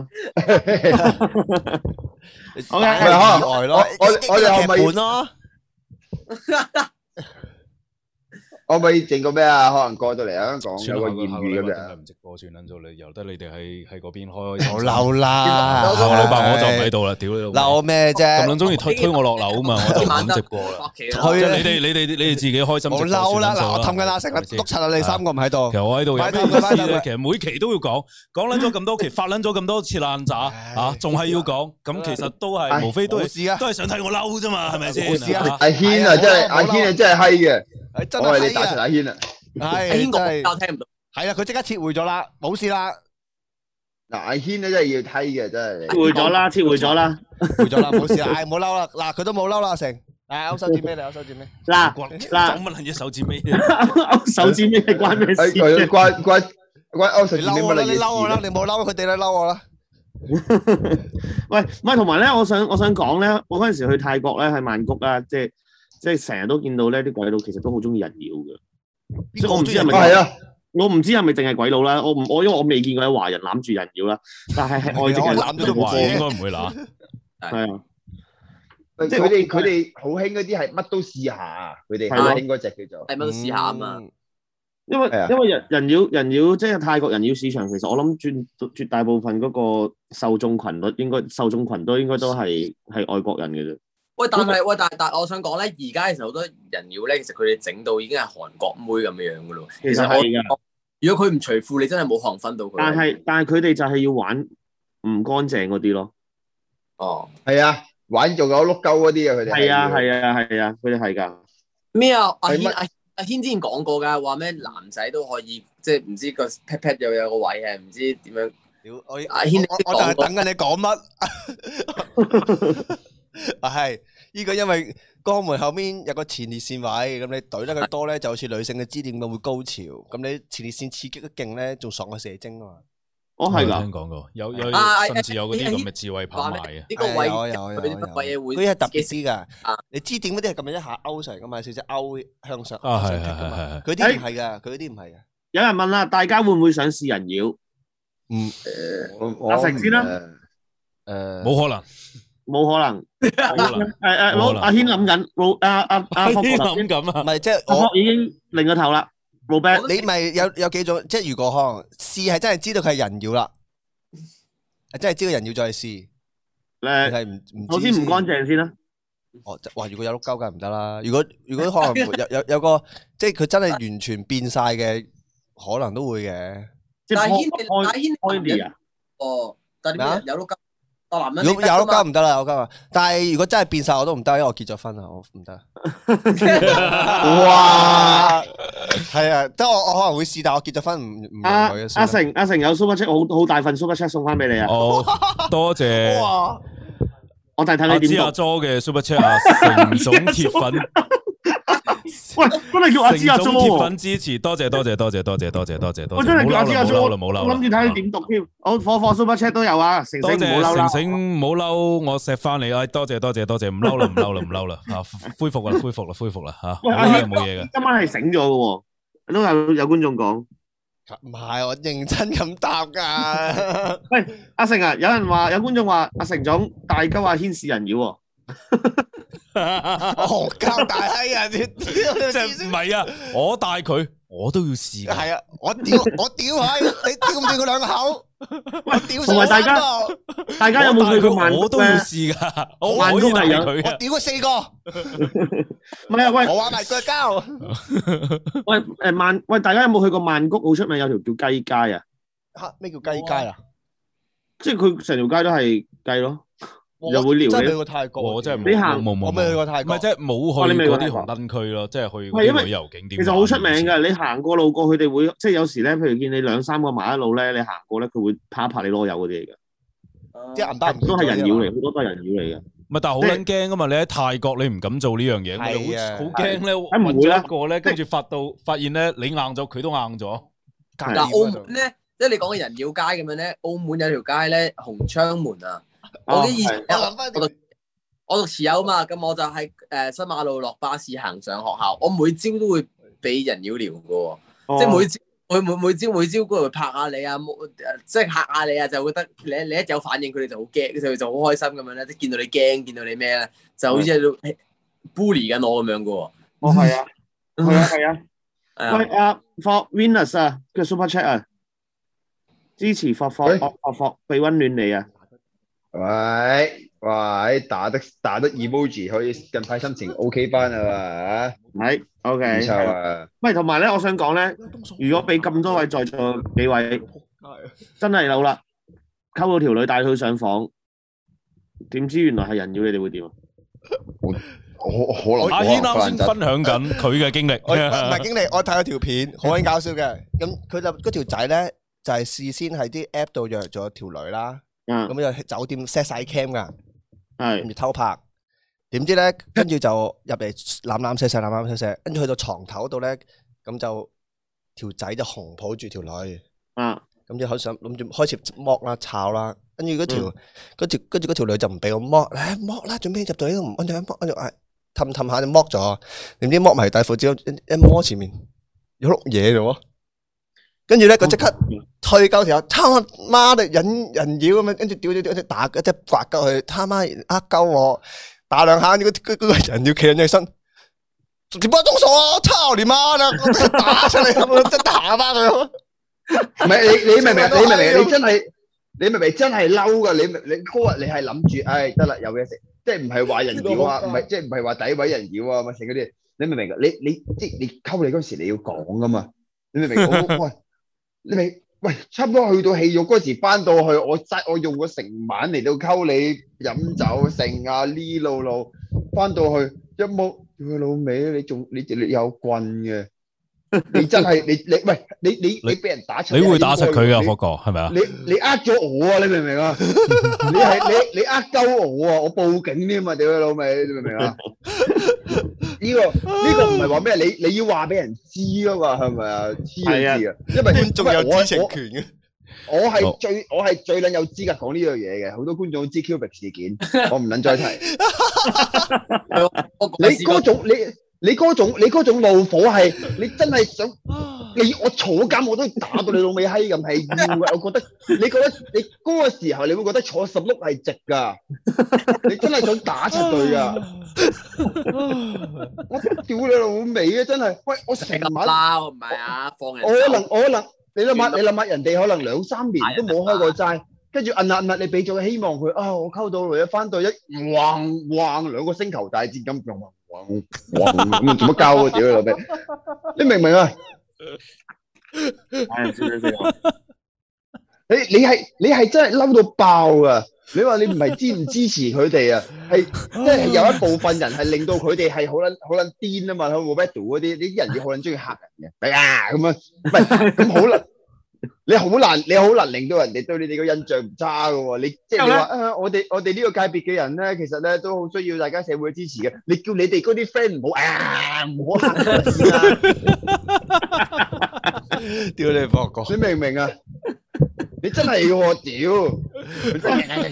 好嘅意外咯， 我我我哋可唔可以劇本咯？ 可唔可以整個咩啊？可能過到嚟香港有個艷遇咁樣。 唔直播算撚咗你，由得你哋喺喺嗰邊開。 好嬲啦！ 下個禮拜我就唔喺度啦，屌你老母！ 嬲咩啫？ 咁撚中意推推我落樓啊嘛，我就唔撚直播啦。 去即係你哋你哋你哋自己開心。 好嬲啦！嗱，我氹緊阿成啦，督柒啦，你三個唔喺度。 其實我喺度有咩快啲快啲意思咧？其實每期都要講，講撚咗咁多期，發撚咗咁多次爛渣啊，仲係要講。咁其實都係無非都係都係想睇我嬲啫嘛，係咪先？ 阿軒啊，真係阿軒啊，真係閪嘅。 真我係你打係柒阿軒啊！ 係阿軒真係講我聽唔到。 係啦，佢即刻撤回咗啦，冇事啦， 嗱，阿軒咧真係要閪嘅，真係。 撤回咗啦，撤回咗啦， 回咗啦，冇事啦，唉，唔好嬲啦，嗱，佢都冇嬲啦，阿成，唉，勾手指尾嚟，勾手指尾。 嗱講嗱， 乜撚嘢手指尾？ 勾手指尾係關咩事？ 誒，關關關歐神你嬲我啦，你乜嬲我啦， 嘢你冇嬲佢哋啦，嬲我啦。 喂，唔係同埋咧，我想我想講咧，我嗰陣時去泰國咧，喺曼谷啊，即係即係成日都見到咧，啲鬼佬其實都好中意人妖嘅。即係我唔知係咪， 係啊， 我唔知係咪淨係鬼佬啦。我唔我因為我未見過有華人攬住人妖啦，但係係外籍人攬咗華應該唔會揦。 係啊， 即係佢哋佢哋好興嗰啲係乜都試下啊！佢哋係興嗰隻叫做係乜都試下啊嘛。 因為係啊因為人人妖人妖即係泰國人妖市場，其實我諗絕絕大部分嗰個受眾群率應該受眾群都應該都係係外國人嘅啫。 喂，但係喂，但係但係我想講咧，而家其實好多人妖咧，其實佢哋整到已經係韓國妹咁樣樣噶咯。 其實係㗎， 如果佢唔除褲，你真係冇可能分到佢。 但係但係佢哋就係要玩唔乾淨嗰啲咯。 哦， 係啊，玩仲有碌鳩嗰啲啊，佢哋係啊要係啊係啊，佢哋係㗎。 咩啊？阿係乜軒阿阿軒之前講過㗎，話咩男仔都可以，即係唔知個 pat pat 又有個位係唔知點樣。 屌我阿軒我我就係等緊你講乜。啊係，呢個因為肛門後面有個前列腺位，咁你懟得佢多咧，就好似女性嘅支點咁會高潮。咁你前列腺刺激得勁咧，仲爽過射精啊嘛。 哦係我㗎， 聽講過，有有啊甚至有嗰啲咁嘅智慧跑話賣嘅。 咩呢個位有有有佢啲乜鬼嘢會佢係特別啲噶啊， 你支點嗰啲係咁樣一下勾上嚟噶嘛，少少勾向上啊係向上棘噶嘛係係係佢啲唔係噶，佢啲唔係噶。 有人問啦，大家會唔會想試人妖？ 嗯我我阿成先啦誒誒， 冇可能， 冇可能。 冇可能。 誒誒，老冇可能阿軒諗緊，老阿阿阿霍啲頭先諗咁啊唔，係即係阿我霍已經擰個頭啦。Robert， 你咪有有幾種，即係如果可能試係真係知道佢係人妖啦，係真係知道人妖再試，你誒， 係唔唔知首先唔乾淨先啦。 哦，即哇！如果有碌鳩梗係唔得啦。如果如果可能有有有個即係佢真係完全變晒嘅，可能都會嘅。 即係但係軒開但係軒開啲啊！ 哦，但係點咩啊解有碌鳩？個男人如果有碌你得㗎嘛鳩唔得啦，有碌鳩啊！但係如果真係變晒我都唔得，因為我結咗婚啦，我唔得。 哇！ 係啊，即係我我可能會試，但我結咗婚唔唔阿容許嘅。 阿成阿成有 super chat，好好大份 super chat 送翻俾你啊！ 哦，多謝。 哇！ 我睇睇阿芝阿你點讀。 Jo 嘅 Super Chat 啊，成總鐵粉， 喂，真係叫阿芝阿成 Jo 總鐵喎！ 粉支持，多謝多謝多謝多謝多謝多謝多謝， 我真係叫阿芝阿冇 Jo， 嬲啦冇嬲啦冇嬲啦， 我諗住睇你點讀添。我火火 super chat 都有啊，成多成唔好嬲啦。 謝成成唔好嬲，我錫翻你啊！多謝多謝多謝，唔嬲啦唔嬲啦唔嬲啦吓，恢復啦恢復啦恢復啦吓， 喂，阿冇嘢軒冇嘢嘅。 今晚係醒咗嘅喎，都有有觀眾講。 唔係我認真咁答噶。 喂，阿成啊，有人話有觀眾話阿成總大鳩阿軒試人妖喎。 我學交大閪啊！你即係唔係啊？我帶佢，我都要試㗎。 係啊！我屌我屌佢，你屌唔屌佢兩口？我屌同埋大家上身度大家有冇去過曼谷我都要咧？ 試㗎，我曼可以帶谷係有佢啊！ 我屌佢四個， 唔係啊，喂我玩埋腳交。 喂誒曼喂，大家有冇去過曼谷好出名有條叫雞街啊？ 吓咩叫雞街啊？ 即係佢成條街都係雞咯，又會撩真係去你。 過泰國， 我真係你行冇冇冇， 我未去過泰國唔係即係冇哦你去嗰啲未去過泰國紅燈區咯，即係去嗰係因為啲旅遊景點。 其實好出名㗎，你行過路過佢哋會即係有時咧，譬如見你兩三個馬一路咧，你行過咧，佢會拍一拍你攞油嗰啲嚟㗎。 即係銀包唔都係人妖嚟， 嚟。 好多都係人妖嚟嘅。 唔係，但係好撚驚噶嘛！你喺泰國你唔敢做呢樣嘢， 係你啊好好驚咧， 梗唔會揾啦咗一個咧，跟住發到發現咧，你硬咗，佢都硬咗。 嗱，澳門咧，即係你講嘅人妖街咁樣咧，澳門有條街咧，紅窗門啊。我記得以前我諗翻我讀我讀持有嘛，咁我就喺誒新馬路落巴士行上學校，我每朝都會俾人妖撩嘅喎，即係每朝每每每朝每朝過嚟拍下你啊，冇即係嚇下你啊，就覺得你你一有反應，佢哋就好驚，佢哋就好開心咁樣咧，即係見到你驚，見到你咩咧，就好似喺度 bully 緊我咁樣嘅喎。 哦，係啊，係啊，係啊。 係喂， 啊， 阿 For Venus 啊，嘅 Super Chat 啊，支持 For For 喂 For For 俾溫暖你啊！ 喂喂，打得打得 emoji 可以近排心情 OK 翻啊嘛， 係唔 ，OK。 錯啊！ 喂，同埋咧，我想講咧，如果俾咁多位在座幾位真係老啦，溝到條女帶佢上房，點知原來係人妖，你哋會點啊？ 我我可能阿軒啱先分享緊佢嘅經歷， 我唔係經理，我睇咗條片，好鬼搞笑嘅。咁佢就嗰條仔咧，就係事先喺啲 app 度約咗條女啦， 啊， 咁就酒店 set 晒 cam 噶，跟係住偷拍。點知咧，跟住就入嚟攬攬錫錫，攬攬錫錫，跟住去到床頭度咧，咁就條仔就紅抱住條女， 啊， 咁就好想諗住開始剝啦、炒啦，跟住嗰條嗰條跟住嗰條女就唔俾我剝，誒剝啦，做咩入到呢度唔跟住剝，跟住誒氹氹下就剝咗，點知剝埋底褲之後一一摸前面有碌嘢咗，跟住咧佢即刻推鳩條友，他媽的引人妖咁樣，跟住屌屌屌，一打一隻刮鳩佢，他媽呃鳩我。打兩下，嗰嗰嗰個人要企喺起身， 點解都傻啊？操你媽啦！我真係打出嚟，我真係打翻佢。 唔係你你明唔明？你明唔明？你真係你明唔明？真係嬲噶！你你嗰日你係諗住，唉得啦，有嘢食，即係唔係話人妖啊？唔係即係唔係話詆毀人妖啊？乜剩嗰啲？你明唔明？你你即係你溝你嗰時你要講噶嘛？你明唔明？我喂，你明？喂，差唔多去到戲肉嗰時翻到去，我齋我用咗成晚嚟到溝你飲酒剩啊呢路路，翻到去一摸佢老味，你仲你你有棍嘅。你真係你你喂你你你俾人打出， 你會打實佢噶， 你霍哥係咪啊？ 你你呃咗我啊！你明唔明啊？你係你你呃鳩我啊！我報警添啊！屌你老味，你明唔明啊？呢個呢個唔係話咩？你你要話俾人知啊嘛？係咪啊？黐你知啊！因為觀眾有知情權嘅。 我係最我係最撚有資格講呢樣嘢嘅，好多觀眾知 Cubic 事件，我唔撚再提。你嗰種你。你嗰種你嗰種怒火係你真係想你我坐監我都打到你老味閪咁係要嘅，我覺得你覺得你嗰個時候你會覺得坐十碌係值㗎，你真係想打出佢啊！我屌你老味啊！真係，喂我成晚啦，唔係啊，放人。 我可能我可能你諗下你諗下人哋可能兩三年都冇開過齋，跟住摁下摁下你俾咗個希望佢啊，我溝到女一翻到一橫橫兩個星球大戰咁用。哇哇咁做乜交啊？屌你老味！你明唔明啊？你你係你係真係嬲到爆啊！你話你唔係支唔支持佢哋啊？係即係有一部分人係令到佢哋係好撚好撚癲啊嘛！喺 Roberto 嗰啲，啲人要好撚中意嚇人嘅，係啊咁樣，唔係咁好啦。你好難，你好難令到人哋對你哋個印象唔差噶喎。你即係你話啊，我哋我哋呢個界別嘅人咧，其實咧都好需要大家社會嘅支持嘅。你叫你哋嗰啲 friend 唔好啊，唔好嚇我先啦。 屌你霍哥， 你明唔明啊？你真係嘅喎，屌！ 唔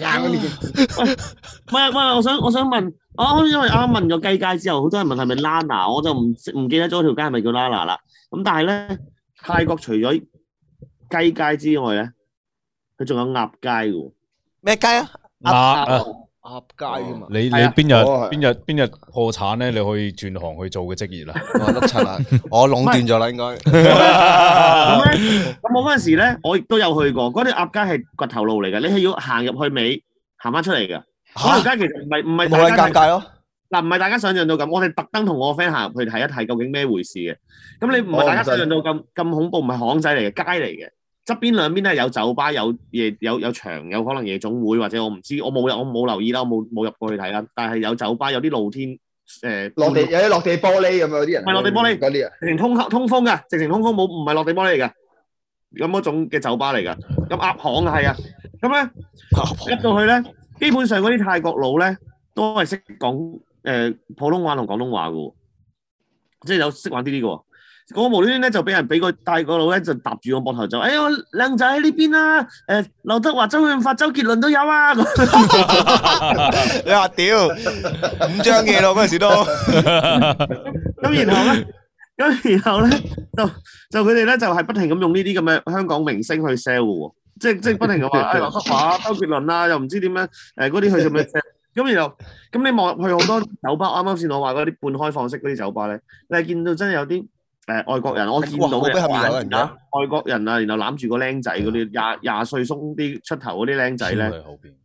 係唔係，我想我想問，我因為啱啱問咗雞街之後，好多人問係咪 Lana， 我就唔唔記得咗條街係咪叫 Lana 啦。咁但係咧，泰國除咗雞街之外咧，佢仲有鴨街嘅喎。 咩雞啊？ 鴨啊， 鴨街啊嘛。 你你邊日邊日邊日破產咧？你可以轉行去做嘅職業啦。 我碌柒啦，我壟斷咗啦，應該。 咁咧，咁我嗰陣時咧，我亦都有去過。嗰啲鴨街係掘頭路嚟嘅，你係要行入去尾，行翻出嚟嘅。嗰條街其實唔係唔係冇人尷尬咯。 嗱，唔係大家想象到咁，我哋特登同我個 friend 行入去睇一睇究竟咩回事嘅。咁你唔係大家想象到咁咁恐怖，唔係巷仔嚟嘅，街嚟嘅。側邊兩邊都係有酒吧、有夜、有有場、有可能夜總會或者我唔知，我冇我冇留意啦，我冇冇入過去睇啦。但係有酒吧，有啲露天誒落地有啲落地玻璃咁樣，有啲人唔係落地玻璃嗰啲啊， 直情通通風㗎，直情通風冇唔係落地玻璃嚟㗎，咁嗰種嘅酒吧嚟㗎。咁鴨巷啊，係啊，咁咧入到去咧，基本上嗰啲泰國佬咧都係識講誒普通話同廣東話嘅喎，即係有識玩啲啲嘅喎。我無端端咧就俾人俾個大個佬咧就搭住我膊頭就，哎呀靚仔喺呢邊啦，誒劉德華、周潤發、周杰倫都有啊！你話屌五張嘢咯嗰陣時都， 咁然後咧，咁然後咧就就佢哋咧就係不停咁用呢啲咁嘅香港明星去 sell 喎，即係即係不停咁話誒劉德華、周杰倫啊，又唔知點樣誒嗰啲去咁樣 sell。咁然後咁你望入去好多酒吧，啱啱先我話嗰啲半開放式嗰啲酒吧咧，你係見到真係有啲。誒外國人，我見到嘅外國人啊，然後攬住個僆仔嗰啲廿廿歲鬆啲出頭嗰啲僆仔咧，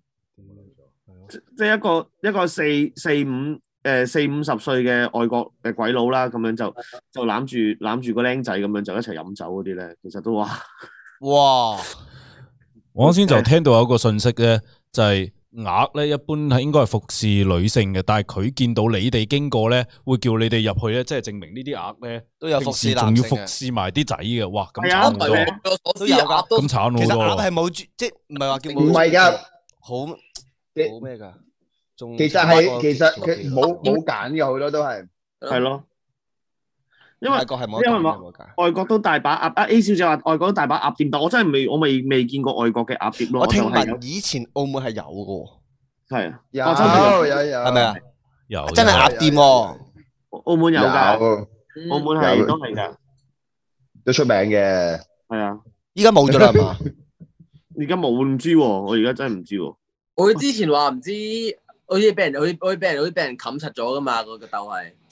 即係一個一個四四五誒四五十歲嘅外國嘅鬼佬啦，咁樣就就攬住攬住個僆仔咁樣就一齊飲酒嗰啲咧，其實都話哇！ 我啱先就聽到有一個信息咧，就係、是。鴨咧一般係應該係服侍女性嘅，但係佢見到你哋經過咧，會叫你哋入去咧，即係證明呢啲鴨咧都有服侍男性嘅， 仲要服侍埋啲仔嘅，哇！咁慘好多， 都有噶， 咁慘好多。 其實鴨係冇即係唔係話叫唔係噶， 好好咩噶？ 其實係其實佢冇冇揀嘅，好多都係係咯。因為外國係冇， 因為外國都大把鴨啊 A 小姐話外國都大把鴨店，但我真係未我未未見過外國嘅鴨店咯。 我聽聞以前澳門係有嘅， 係啊， 有有有係咪啊？ 有真係鴨店喎， 澳門有㗎，澳門係都係㗎， 都出名嘅。 係啊， 依家冇咗啦係嘛？ 而家冇唔知喎，我而家真係唔知喎。 我之前話唔知，好似俾人好似好似俾人好似俾人冚實咗㗎嘛，個個竇係。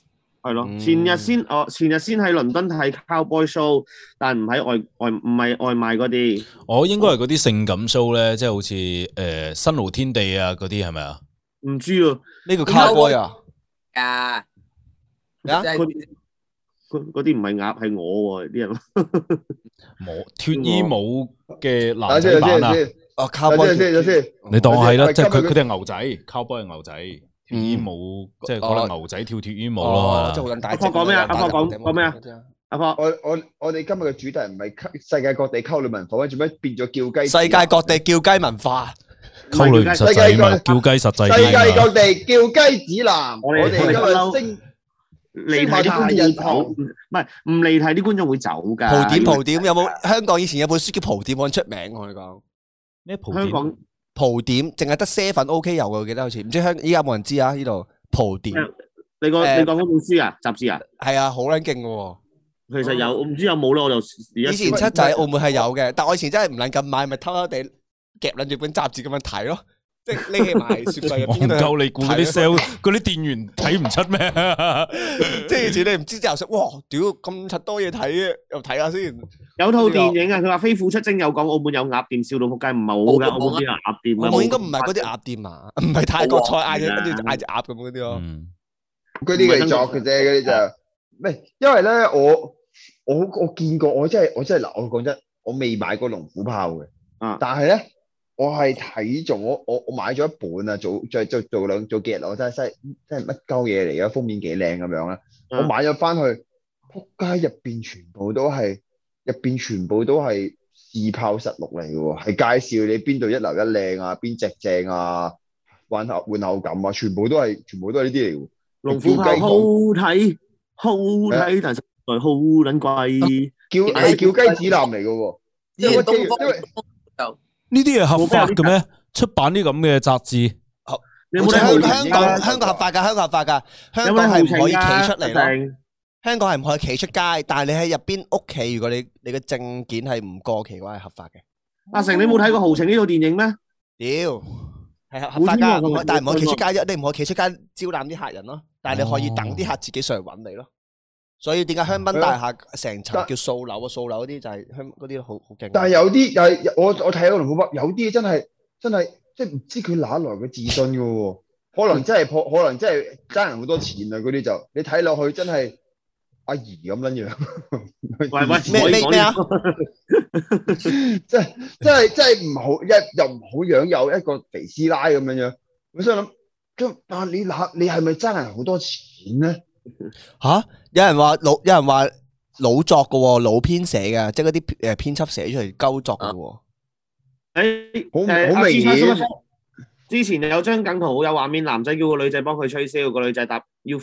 係咯， 嗯前日先哦，前日先喺倫敦睇 Cowboy Show，但唔喺外外唔係外賣嗰啲。 我應該係嗰啲性感 show 咧，即係好似誒新濠天地啊嗰啲係咪啊？ 唔知啊， 呢個 cowboy 啊， 啊， 咩啊即係嗰啲嗰嗰啲唔係鴨，係我喎啲人。 冇脱衣舞嘅男等先， 仔版啊！ 等先， 哦等 ，cowboy 先，等先， 你當係啦， 喂即係佢今日佢哋係牛仔，cowboy 係牛仔，脱衣舞即係可能牛仔跳脱衣舞哦， 咯。 即係好撚大阿婆講咩啊阿婆講講咩啊？阿婆， 我我我哋今日嘅主題唔係溝世界各地溝女文化，做咩變咗叫雞？ 世界各地叫雞文化， 溝女唔實際嘛，叫雞實際世界啲嘛。 各地叫雞指南， 我哋我哋今日升離題啲觀眾會走，唔係唔離題啲觀眾會走㗎。 蒲點蒲點有冇？香港以前有本書叫蒲點，好出名，我同你講。 咩蒲點？ 香港蒲點淨係得 seven OK 有嘅，我記得好似唔知香依家冇人知啊！呢度蒲點你個誒你講嗰本書啊，雜誌啊， 係啊，好撚勁嘅喎。 其實有，我唔知有冇咯，我就而家以前七仔喺澳門係有嘅，但我以前真係唔撚咁買，咪偷偷地夾撚住本雜誌咁樣睇咯，即係匿起埋雪櫃入邊戇度。 鳩你估嗰啲 sale 嗰啲店員睇唔出咩？ 即係以前你唔知之後食，哇！屌咁柒多嘢睇嘅，又睇下先。 有套電影啊，佢話飛虎出征有講澳門有鴨店，笑到仆街，唔係冇㗎，澳門邊有鴨店啊？ 澳門應該唔係嗰啲鴨店啊，唔係泰國菜嗌隻跟住嗌隻鴨咁嗰啲咯。 嗯嗰啲佢作嘅啫，嗰啲就唔係，因為咧我我我見過，我真係我真係嗱，我講真，我未買過龍虎豹嘅， 啊但係咧我係睇中我我我買咗一本啊，做做做做兩做幾日我真係真係真係乜鳩嘢嚟嘅，封面幾靚咁樣啦， 嗯我買咗翻去，仆街入邊全部都係入邊全部都係試炮實錄嚟嘅喎，係介紹你邊度一流一靚啊，邊隻正啊，玩後換後感啊，全部都係全部都係呢啲嚟嘅喎。 龍虎豹好睇，好睇，但係實在好撚貴。 叫係叫雞指南嚟嘅喎， 之前東方因為就呢啲係合法嘅咩？出版啲咁嘅雜誌， 你有冇香睇香港香港合法㗎，香港合法㗎，香港係唔可以企出嚟咯。 咯。 香港係唔可以企出街，但係你喺入邊屋企，如果你你嘅證件係唔過期嘅話，係合法嘅。 阿成，你冇睇過《豪情》呢套電影咩？ 屌，係合合法㗎， 冇唔可以但係唔可以企出街冇啫，你唔可以企出街招攬啲客人咯。但係你可以等啲客自己上嚟揾你咯。所以點解香檳大廈成層叫掃樓啊？掃樓嗰啲就係香嗰啲好好勁。 但係有啲又係我我睇嗰個龍虎豹，有啲真係真係即係唔知佢哪來嘅自信嘅喎，可能真係破，可能真係爭人好多錢啊！嗰啲就你睇落去真係阿姨咁撚樣。 喂喂， 咩咩咩啊？ 即係即係即係唔好一又唔好樣，有一個肥師奶咁樣樣。我想諗，咁但係你嗱你係咪爭人好多錢咧？ 吓，有人話老，有人話老作嘅喎，老編寫嘅，即係嗰啲誒編輯寫出嚟鳩作嘅喎。 誒好誒好明顯阿芝生之前有張梗圖好有畫面，男仔叫個女仔幫佢吹簫，個女仔答 You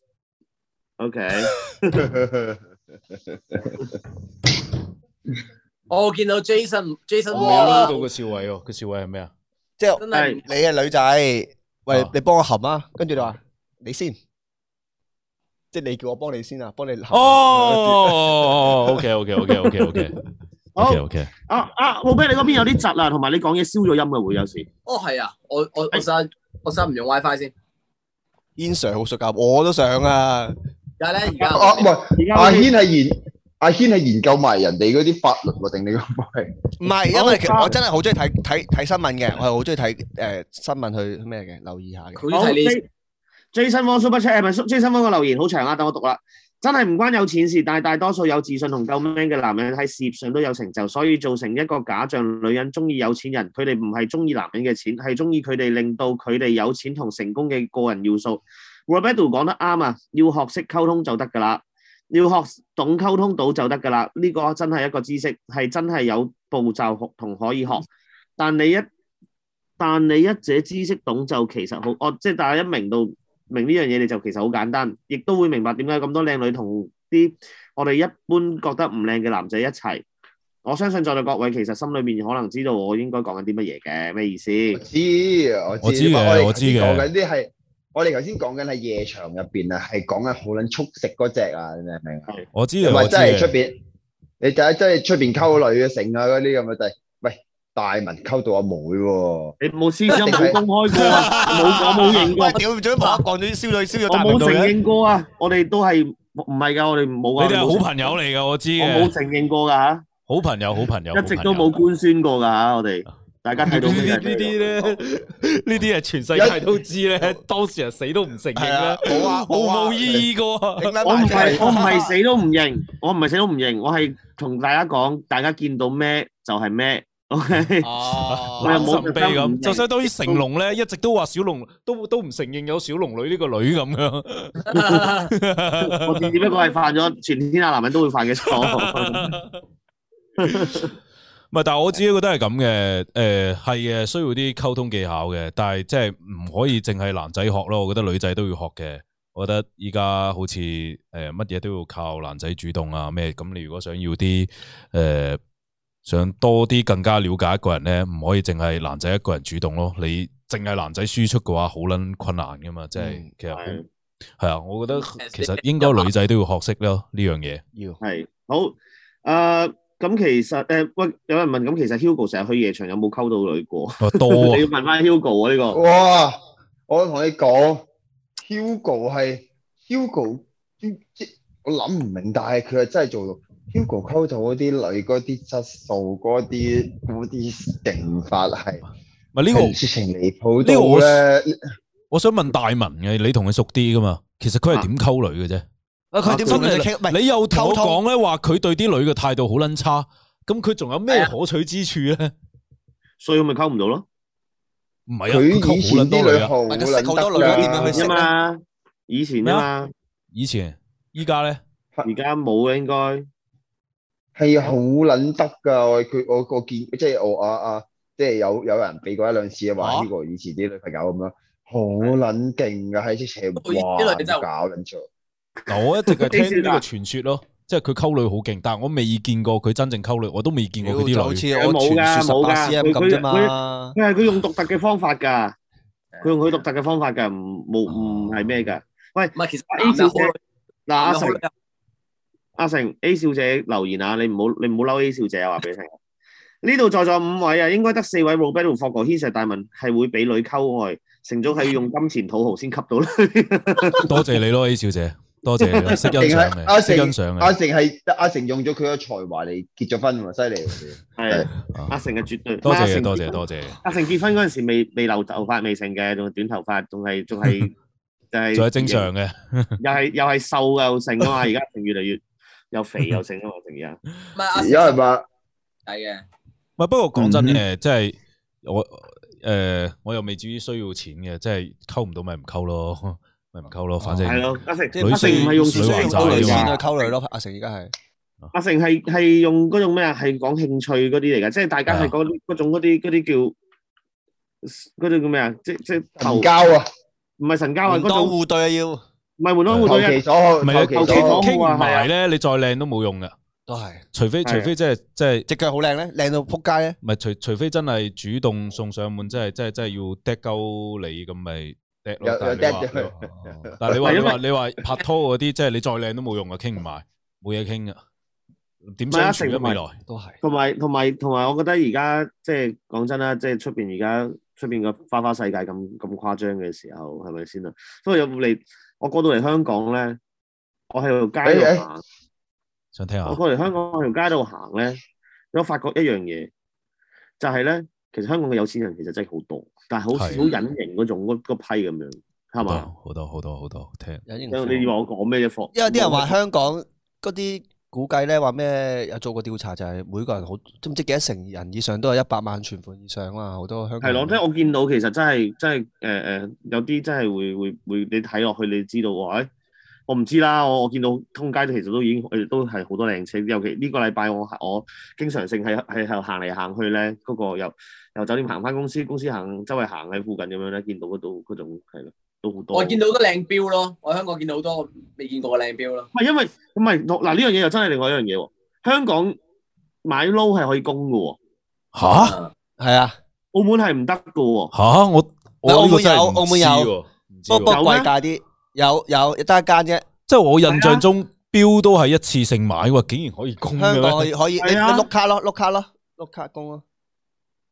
first。OK， 我見到 Jason Jason 我未 Wall 撈到個笑位喎，個笑位係咩啊？ 即係真係你係女仔，喂啊， 你幫我含啊，跟住你話你先，即係你叫我幫你先啊，幫你含。 哦，OK OK OK OK OK 好 OK OK， 啊啊，浩啤你嗰邊有啲窒啊，同埋你講嘢燒咗音嘅會有時。 哦係啊，我我我實我實唔用 WiFi 先， Ian Sir 好熟㗎，我都想啊。 而家咧而家啊唔係， 而家阿軒係研阿軒係研究埋人哋嗰啲法律喎，定你個係？ 唔係，因為其實好我真係好中意睇睇睇新聞嘅，我係好中意睇誒新聞去咩嘅，留意下嘅。 好佢睇呢 Jason Wong Super Chat 係咪 Jason Wong 個留言好長啊？等我讀啦。真係唔關有錢事，但係大多數有自信同夠 man 嘅男人喺事業上都有成就，所以造成一個假象，女人中意有錢人，佢哋唔係中意男人嘅錢，係中意佢哋令到佢哋有錢同成功嘅個人要素。Roberto 講得啱啊，要學識溝通就得㗎啦，要學懂溝通到就得㗎啦。呢個真係一個知識，係真係有步驟學同可以學。但你一但你一者知識懂就其實好，我即係大家一明到。明呢樣嘢你就其實好簡單，亦都會明白點解咁多靚女同啲我哋一般覺得唔靚嘅男仔一齊。我相信在座各位其實心裏面可能知道我應該講緊啲乜嘢嘅，咩意思？ 我知我我知嘅哋我知嘅講緊啲係我哋頭先講緊係夜場入邊啊，係講緊好撚速食嗰只啊，你明唔明啊？ 我知嘅， 唔係我知嘅。 真係出邊，你睇真係出邊溝女嘅成啊嗰啲咁嘅就係，喂大文溝到阿妹喎。 你冇私相冇公開過啊，冇我冇認過喂，，屌，最冇講咗啲燒女燒咗我大明度嘅。 冇承認過啊，我哋都係唔係㗎，我哋冇啊。 你哋係冇好朋友嚟噶，我知我冇嘅， 承認過㗎嚇， 好朋友，好朋友， 一直都冇官宣過㗎嚇，我哋大家睇到呢咩啲呢啲咧，呢啲係全世界都知咧，當事人死都唔承認係啊啦，， 冇啊， 毫冇啊無意義噶。 頂撚我唔埋啫係我唔係死都唔認，我唔係死都唔認，我係同大家講，大家見到咩就係咩，OK。 哦我又冇神秘特登唔咁， 認就相當於成龍咧，一直都話小龍都都唔承認有小龍女呢個女咁樣。 我只不過係犯咗全天下男人都會犯嘅錯。 唔係，但係我自己覺得係咁嘅，誒係嘅，需要啲溝通技巧嘅，但係即係唔可以淨係男仔學咯，我覺得女仔都要學嘅。我覺得依家好似誒乜嘢都要靠男仔主動啊咩，咁你如果想要啲誒、呃、想多啲更加了解一個人咧，唔可以淨係男仔一個人主動咯，你淨係男仔輸出嘅話，好撚困難噶嘛，即係、 嗯其實係係啊，我覺得其實應該女仔都要學識咯呢樣嘢。 要係好誒，咁其實誒喂，有人問咁，其實 Hugo 成日去夜場有冇溝到女過？ 哦多你啊要問翻 Hugo 啊呢個。 哇！我同你講，Hugo 係 Hugo，即我諗唔明，但係佢係真係做到。Hugo 溝到嗰啲女嗰啲質素，嗰啲嗰啲勁法係唔係呢個係直情離譜呢個我到咧。 我想問大文嘅，你同佢熟啲噶嘛？其實佢係點溝女嘅啫？ 啊佢點同女仔傾？唔係你又同我溝通講咧話佢對啲女嘅態度好撚差，咁佢仲有咩啊可取之處咧？ 所以咪溝唔到咯。 唔係啊，佢佢以前溝好撚多女啊！ 啲女好唔係佢識好多女撚得㗎點樣去識啫嘛，以前啊嘛， 以前依家咧， 而家冇嘅應該。 係好撚得㗎，我佢我我見即係我啊啊，即係有有人俾過一兩次話啊呢個以前啲女朋友咁樣，好撚勁㗎，喺直情哇啲女真係搞撚錯。 嗱我一直係聽呢個呢啲傳說咯，即係佢溝女好勁，但係我未見過佢真正溝女，我都未見過佢就好啲女。 似我傳説十八 C M 咁啫嘛。 佢係佢用獨特嘅方法㗎，佢用佢獨特嘅方法㗎，唔冇唔係咩㗎。喂， 唔係其實 A 小姐男嘅嗱，阿成好女阿成 A 小姐留言啊，你唔好你唔好嬲 A 小姐啊，話俾你聽。呢度在座五位啊，應該得四位 Robert 同霍哥軒石大文係會俾女溝愛，成咗係要用金錢土豪先吸到女。 多謝你咯，A 小姐，多謝你，識欣定賞係阿嘅，識成欣賞嘅。 阿成係阿成用咗佢嘅才華嚟結咗婚喎，犀利喎。 係啊阿成係絕對多謝嘅， 阿成多謝多謝。 阿成結婚嗰陣時未未留頭髮未成嘅，仲係短頭髮，仲係仲係就係仲係正常嘅。 又係又係瘦又成啊嘛，而家成越嚟越又肥又成啊嘛，成而家。 唔係阿有人話係嘅， 唔係，不過講真嗯誒，即係我誒，我又未至於需要錢嘅，即係溝唔到咪唔溝咯，咪唔溝咯，反正係咯，阿成即女阿成唔係用女還債需要溝女㗎嘛先去溝女咯。阿成而家係阿成係係用嗰種咩啊？係講興趣嗰啲嚟㗎，即係大家係嗰啲嗰種嗰啲嗰啲叫嗰啲叫咩啊？即即投神交啊， 唔係神交啊， 門當嗰種戶對啊要， 唔係門當戶投對啊， 其所好， 唔係啊， 投其所好投其所好。 傾唔啊係啊埋咧，你再靚都冇用噶， 都係除非係啊除非即係即係隻腳好靚咧，靚到撲街咧。 唔係除除非真係主動送上門，即係即係即係要掟鳩你咁咪掟咯。 有有但係你話 dead 咗但係你話係因為你話你話拍拖嗰啲，即係你再靚都冇用啊，傾唔埋，冇嘢傾噶，點唔係啊相處啊成未來？ 都係同埋同埋同埋，我覺得而家即係講真啦，即係出邊而家出邊個花花世界咁咁誇張嘅時候，係咪先啊？所以有冇嚟？我過到嚟香港咧，我喺條街度行， 想聽下我過嚟香港喺條街度行咧，我發覺一樣嘢，就係咧，其實香港嘅有錢人其實真係好多，但係好好係隱形嗰種嗰嗰批咁樣，係好嘛？ 多好多好多好多聽。 有型因為你以為我講咩啫？霍因為啲人話香港嗰啲估計咧，話咩有做過調查，就係每個人好都唔知幾多成人以上都有一百萬存款以上啊，好多香港人係咯，即係我見到其實真係真係誒誒，有啲真係會會會，你睇落去你知道喎，誒、我唔知啦，我我見到通街都其實都已經誒都係好多靚車，尤其呢個禮拜我我經常性係係係行嚟行去咧，嗰、個由由酒店行翻公司，公司行周圍行喺附近咁樣咧，見到嗰度嗰種係咯，都好多。 我見到好多靚標咯，我喺香港見到好多未見過嘅靚標咯。 唔係因為唔係嗱呢樣嘢又真係另外一樣嘢喎，香港買撈係可以供嘅喎， 吓係啊， 澳門係唔得嘅喎。 吓我我澳門呢個真係唔有澳門有知喎唔知喎不過不過有咩貴價啲，有有得一間啫。 即係我印象中標都係一次性買喎，竟然可以供嘅香港可咩？ 以可以，你你係啊碌卡咯，碌卡咯，碌卡供咯。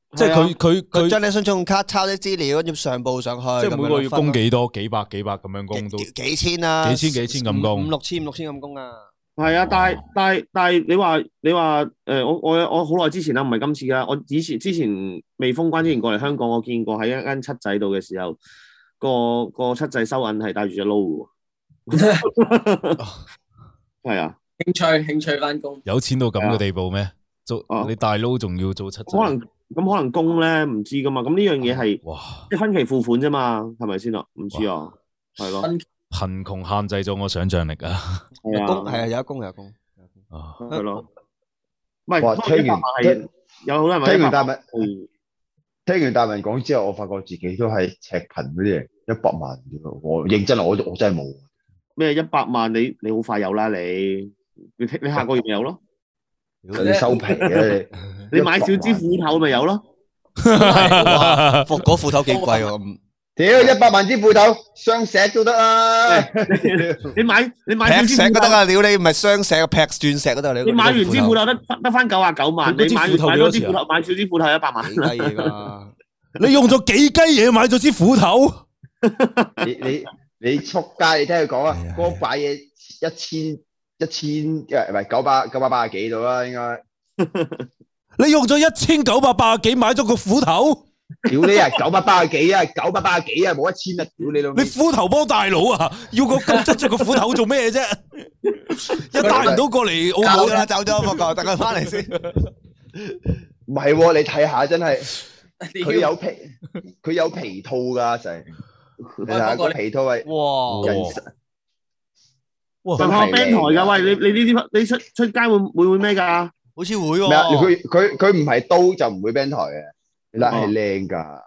即係佢佢佢佢將你信用卡抄啲資料，跟住上報上去， 即係每個月供幾多？幾百幾百咁樣供都幾幾千啊， 幾千幾千咁供五五六千五六千咁供啊。 係啊，但係但係但係你話你話誒、呃，我我我好耐之前啦，唔係今次啦，我以前之前未封關之前過嚟香港，我見過喺一間七仔度嘅時候，個個七仔收銀係帶住隻撈嘅喎，係啊， 興趣興趣翻工， 有錢到咁嘅地步咩？做啊你大佬仲要做七仔？ 可能咁可能供咧唔知噶嘛，咁呢樣嘢係哇！ 即係分期付款啫嘛，係咪先啊？唔知啊，係咯， 貧窮限制咗我想象力啊！ 係啊， 供係啊，有一供有一供。 啊， 係咯，唔係哇不過聽完係有好多人話聽完一百萬大文，聽完大文講之後，我發覺自己都係赤貧嗰啲嘢，一百萬啫喎我認真啊，我我真係冇。 咩一百萬你你好快有啦你，你你下個月咪有咯， 你收皮嘅你， 你買少支斧頭咪有咯。 副嗰斧頭幾貴喎？ 屌一百萬支斧頭，雙石都得啦。 你買你買少劈支斧頭， 石都得啊！屌你唔係雙石，劈鑽石都得。 你買完支斧頭得得翻九啊九萬， 佢嗰支你買斧頭買幾多錢啊多支斧頭，買少支斧頭一百萬。 幾雞嘢㗎？ 你用咗幾雞嘢買咗支斧頭？ 你你你出街，你聽佢講啊係啊， 嗰把嘢一千一千，唔係九百九百八十幾度啦，應該。 你用咗一千九百八十幾買咗個斧頭？ 屌你啊，九百八十幾啊，九百八十幾啊，冇一千啊，屌你老味你！斧頭幫大佬啊？要個咁質着個斧頭做咩啫？一帶唔到過嚟澳門走咗啦，走咗，福哥，等佢翻嚟先。 唔係喎，你睇下真係，佢佢有皮，佢有皮套㗎成。你睇下個皮套係哇！ 人哇！ 上學 band 台㗎，喂，你你呢啲你出出街會會唔會咩㗎？ 好似會咩啊？ 喎。 佢佢佢唔係刀就唔會 band 台嘅，你睇係靚㗎。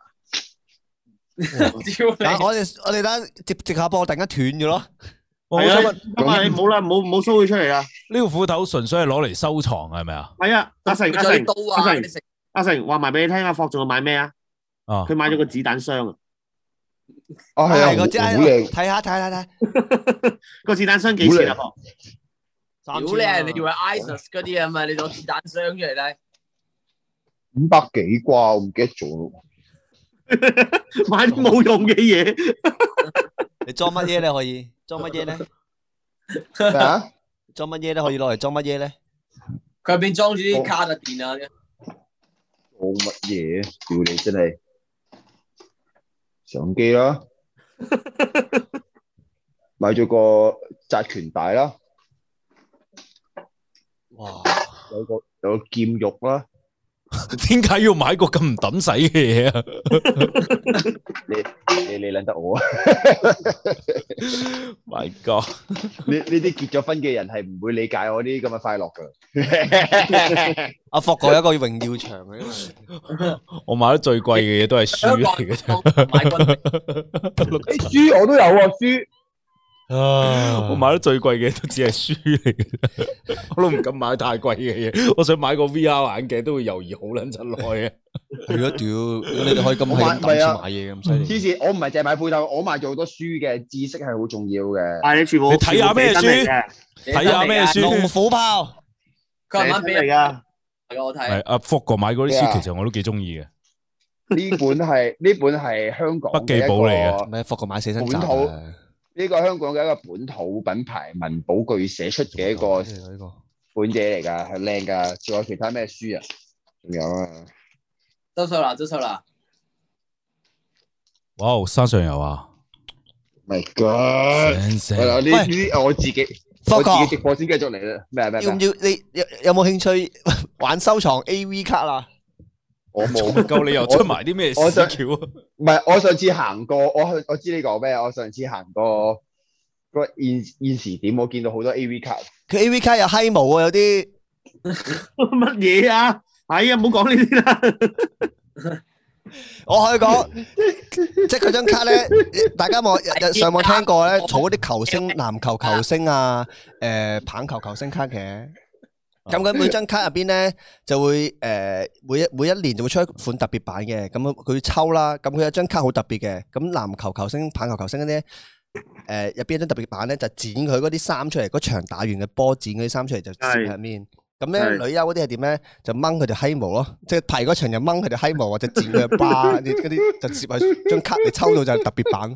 但我哋我哋等接接下波，突然間斷咗咯。 係啊我想問， 咁啊，你冇啦，冇冇 show 佢出嚟啦。 呢個斧頭純粹係攞嚟收藏係咪啊？ 係啊，阿成阿成啲刀啊， 阿成嗰啲食阿成話埋俾你聽，阿霍仲要買咩啊？ 啊佢買咗個子彈箱啊！ 啊係啊， 個只好靚。 睇下睇下睇下。 個子彈箱幾錢啊？霍屌你啊！你以為 ISIS 嗰啲啊嘛？你攞子彈箱出嚟咧， 五百幾啩，我唔記得咗咯。 買啲冇用嘅嘢， 你裝乜嘢咧？可以裝乜嘢咧？ 咩啊？ 裝乜嘢咧？可以攞嚟裝乜嘢咧？ 佢入邊裝住啲卡特電啊， 做乜嘢？屌你真係相機啦，買咗個紮拳帶啦， 哇！ 有個有個劍玉啦。 點解要買個咁唔抌使嘅嘢啊？ 你你你諗得我啊？ My God！ 呢呢啲結咗婚嘅人係唔會理解我啲咁嘅快樂噶。 阿霍哥有一個榮耀場嘅，因為我買得最貴嘅嘢都係書嚟嘅啫。 買軍誒書我都有啊，書我買得最貴嘅都只係書嚟嘅啫，我都唔敢買太貴嘅嘢。我想買個 V R 眼鏡都會猶豫好撚陣耐嘅。 係咯，屌！你哋可以咁我買係咁抌錢買嘢咁犀利。 黐線，我唔係淨係買褲頭，我買咗好多書嘅，知識係好重要嘅。 但係你全部你睇下咩書全部俾真嚟嘅睇下咩書龍虎豹， 佢慢慢俾人寫嚟㗎。 我睇係，阿福哥買嗰啲書，其實我都幾中意嘅。 呢本係呢本係香港筆記簿嚟嘅唔係霍哥買寫真集本土啊。 呢個香港嘅一個本土品牌文保具寫出嘅一個呢個本嘢嚟㗎，係靚㗎。仲有其他咩書啊？仲有啊， 周秀娜，周秀娜， 哇！山上游啊 My God！ 成係啦， 成呢呢啲我自己霍哥我自己直播先繼續嚟啦。咩啊咩啊咩啊？ 要唔要？你有有冇興趣玩收藏 A V 卡啊？ 我冇唔夠你又出埋啲咩我想屎橋啊？ 唔係，我上次行過，我去我知你講咩。我上次行過個現現時點，我見到好多 A V 卡。 佢 A V 卡有閪毛啊，有啲乜嘢啊？係啊，唔好講呢啲啦。 我可以講，即係佢張卡咧，大家冇日日上網聽過咧，儲嗰啲球星、籃球球星啊，誒棒球球星卡嘅。咁佢每張卡入邊咧就會誒每一每一年就會出一款特別版嘅，咁佢抽啦，咁佢有張卡好特別嘅，咁籃球球星、棒球球星嗰啲誒入邊有張特別版咧就剪佢嗰啲衫出嚟，嗰場打完嘅波剪嗰啲衫出嚟就攝喺入面， 咁咧女優嗰啲係點咧？就掹佢條閪毛咯，即係排嗰場就掹佢條閪毛或者剪佢嘅疤，啲嗰啲就接喺張卡你抽到就係特別版。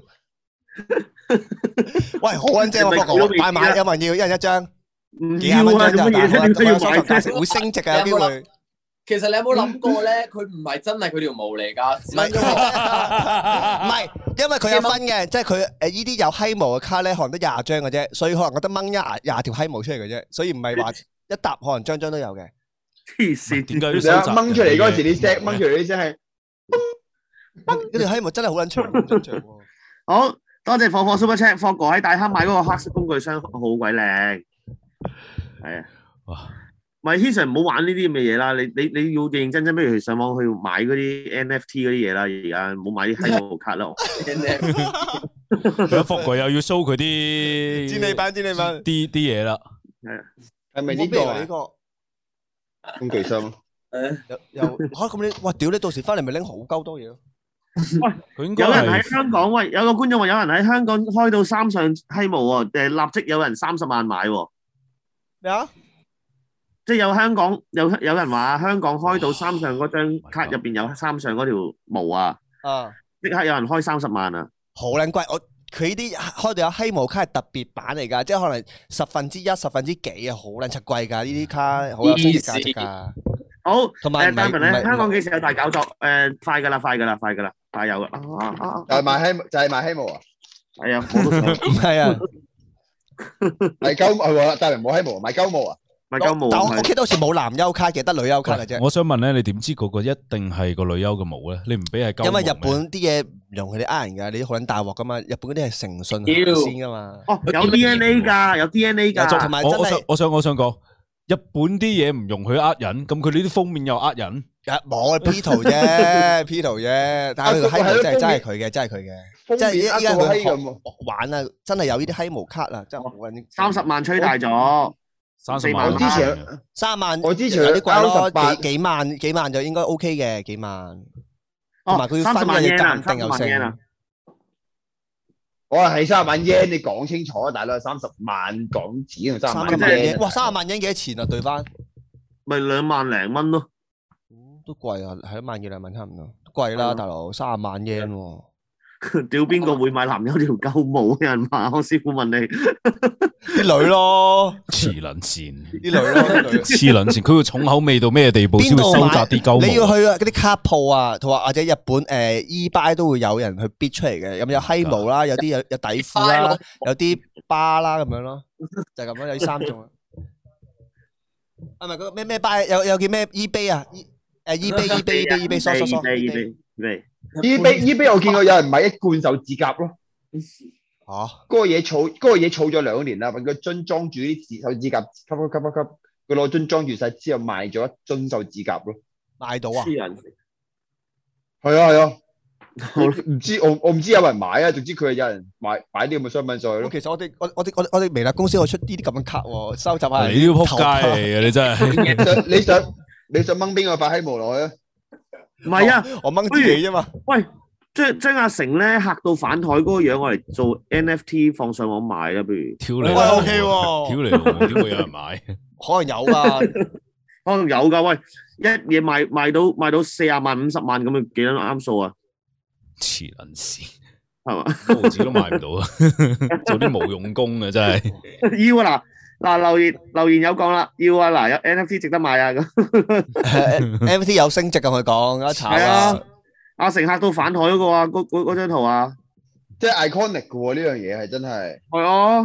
喂，好撚正喎，福哥，買買有冇人要？一人一張，幾廿蚊張就但係我收藏價值會升值嘅有機會。 其實你有冇諗過咧？佢唔係真係佢條毛嚟㗎， 唔係，唔係，因為佢有分嘅，即係佢誒呢啲有閪毛嘅卡咧，可能得廿張嘅啫，所以可能我得掹一廿廿條閪毛出嚟嘅啫，所以唔係話一沓可能張張都有嘅。 黐線， 點解要你收集？ 掹出嚟嗰時啲聲，掹出嚟啲聲係嗰條閪毛真係好撚長，好長喎。 好多謝火火 Super Chat，霍哥喺大坑買嗰個黑色工具箱好鬼靚，係啊。 哇！ 唔係 Hanson 唔好玩呢啲咁嘅嘢啦，你你你要認認真真，不如去上網去買嗰啲 N F T 嗰啲嘢啦，而家唔好買啲閪毛卡啦。 有福哥又要 show 佢啲戰利品，戰利品啲啲嘢啦。 係啊， 係咪呢個啊呢個工具箱咯？ 又又嚇咁你，哇屌你到時翻嚟咪拎好鳩多嘢咯。 佢應該有人喺係香港，喂，有個觀眾話有人喺香港開到三上閪毛喎，誒立即有人三十萬買喎。 咩啊？ 即係有香港有有人話香港開到三上嗰張卡入邊有三上嗰條毛啊， 啊， 即刻有人開三十萬啊！ 好撚貴，我佢呢啲開到有閪毛卡係特別版嚟㗎，即係可能十分之一、十分之幾啊，好撚柒貴㗎，呢啲卡好有升值價值㗎。 好， 同埋誒，大文咧， 唔係唔係香港幾時有大搞作？誒，快㗎啦，快㗎啦，快㗎啦，快有啦！啊啊啊！ 就係賣閪，就係賣閪毛啊！ 係啊，我都想唔係啊， 賣鳩毛係喎，大明冇閪毛，賣鳩毛啊！ 買鳩毛。 但我我記得好似冇男優卡嘅，得女優卡嘅啫。 我想問咧，你點知嗰個一定係個女優嘅毛咧？你唔俾係鳩毛咩？ 因為日本啲嘢唔容佢哋呃人㗎，你啲好撚大鑊㗎嘛。日本嗰啲係誠信行先㗎嘛。 哦，有 D N A 㗎，有 D N A 㗎。 同埋真我我想係我想我想講，日本啲嘢唔容許呃人，咁佢呢啲封面又呃人。 冇啊 P 圖啫 ，P 圖啫。但係佢個閪毛真係真係佢嘅，真係佢嘅。即係依依家佢學玩啊，真係有呢啲閪毛卡啊，真係好撚。 三十萬吹大咗。 三十萬我之前三萬， 我之前有啲貴咯， 十八幾幾萬幾萬就應該 OK 嘅，幾萬。 哦同埋佢要分嘅要鑑定又成。 我話係三十萬 yen，你講清楚啊，大佬，三十萬港紙同三十萬三十萬 yen， yen，哇，三十萬 yen 幾多錢啊？對翻咪兩萬零蚊咯。 都貴啊，係一萬二兩萬差唔多，貴啦，大佬，三十萬 yen 喎。 屌邊個會買男優條鳩毛？有人話我師傅問你， 啲女咯， 黐撚線， 啲女咯， 黐撚線，佢會重口味到咩地步先會收集啲鳩毛？ 你要去嗰啲卡鋪啊，同埋或者日本誒 eBay 都會有人去 bid 出嚟嘅，咁有閪毛啦，有啲有有底褲啦，有啲巴啦咁樣咯，就係咁咯，有啲三種啊。係咪嗰個咩咩 buy 有有叫咩 eBay 啊？誒 eBay eBay eBay eBay 疏疏疏 eBay eBay。 eBay eBay 我見過有人買一罐手指甲咯， 嚇， 嗰個嘢儲嗰個嘢儲咗兩年啦，揾個樽裝住啲手指甲，吸吸吸吸吸，佢攞樽裝住晒之後賣咗一樽手指甲咯， 買到啊？ 黐人， 係啊係啊，唔知我我唔知有人買啊，總之佢係有人買買啲咁嘅商品上去咯。 其實我哋我我哋我我哋微辣公司我出呢啲咁嘅卡喎，收集下。 你呢個仆街嚟嘅，你真係。 你想你想掹邊個發閪毛落去啊？ 唔係啊， 我掹自己啫嘛。 喂，將將阿成咧嚇到反台嗰個樣，我嚟做 N F T 放上網賣啦，不如。 挑你喂，O K 喎， 挑你老母，點會有人買？ 可能有噶， 可能有噶。喂，一嘢賣賣到賣到四十萬、五十萬咁啊，幾多啱數啊？ 黐撚線， 係嘛？ 毫子都買唔到啊！做啲冇用功嘅真係。 要啊嗱。嗱留言留言有講啦，要啊嗱有 N F T 值得買啊咁 ，N F T 有升值咁佢講，一炒係啊，阿成嚇到反台嗰個啊，嗰嗰嗰張圖啊， 即係 iconic 嘅喎，呢樣嘢係真係。 係啊，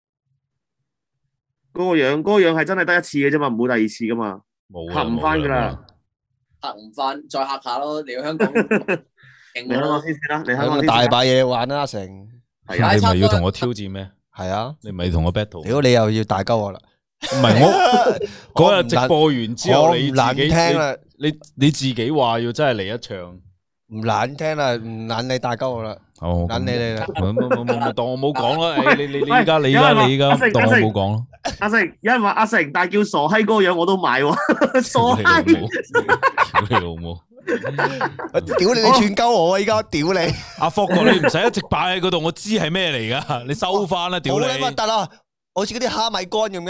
嗰個樣嗰個樣係真係得一次嘅啫嘛，唔會第二次噶嘛， 冇嚇唔翻噶啦， 嚇唔翻，再嚇下咯，嚟到香港嚟香港先先啦，嚟香港先。 大把嘢玩啦，阿成。 係啊，你咪要同我挑戰咩？ 係啊， 你咪同我 battle。 如果你又要大鳩我啦， 唔係我嗰日直播完之後，你唔難聽啦， 你你自己話要真係嚟一場， 唔難聽啦，唔難你大鳩我啦， 哦， 難你你啦， 冇冇冇冇當我冇講啦，你你你依家你依家你依家當我冇講咯。 阿成，有人話阿成，但係叫傻閪嗰個樣我都買喎，傻閪， 屌你老母！ 屌你！你串鳩我啊！依家屌你！ 阿霍哥，你唔使一直擺喺嗰度，我知係咩嚟噶，你收翻啦！屌你！ 好撚核突啊！好似嗰啲蝦米乾咁嘅。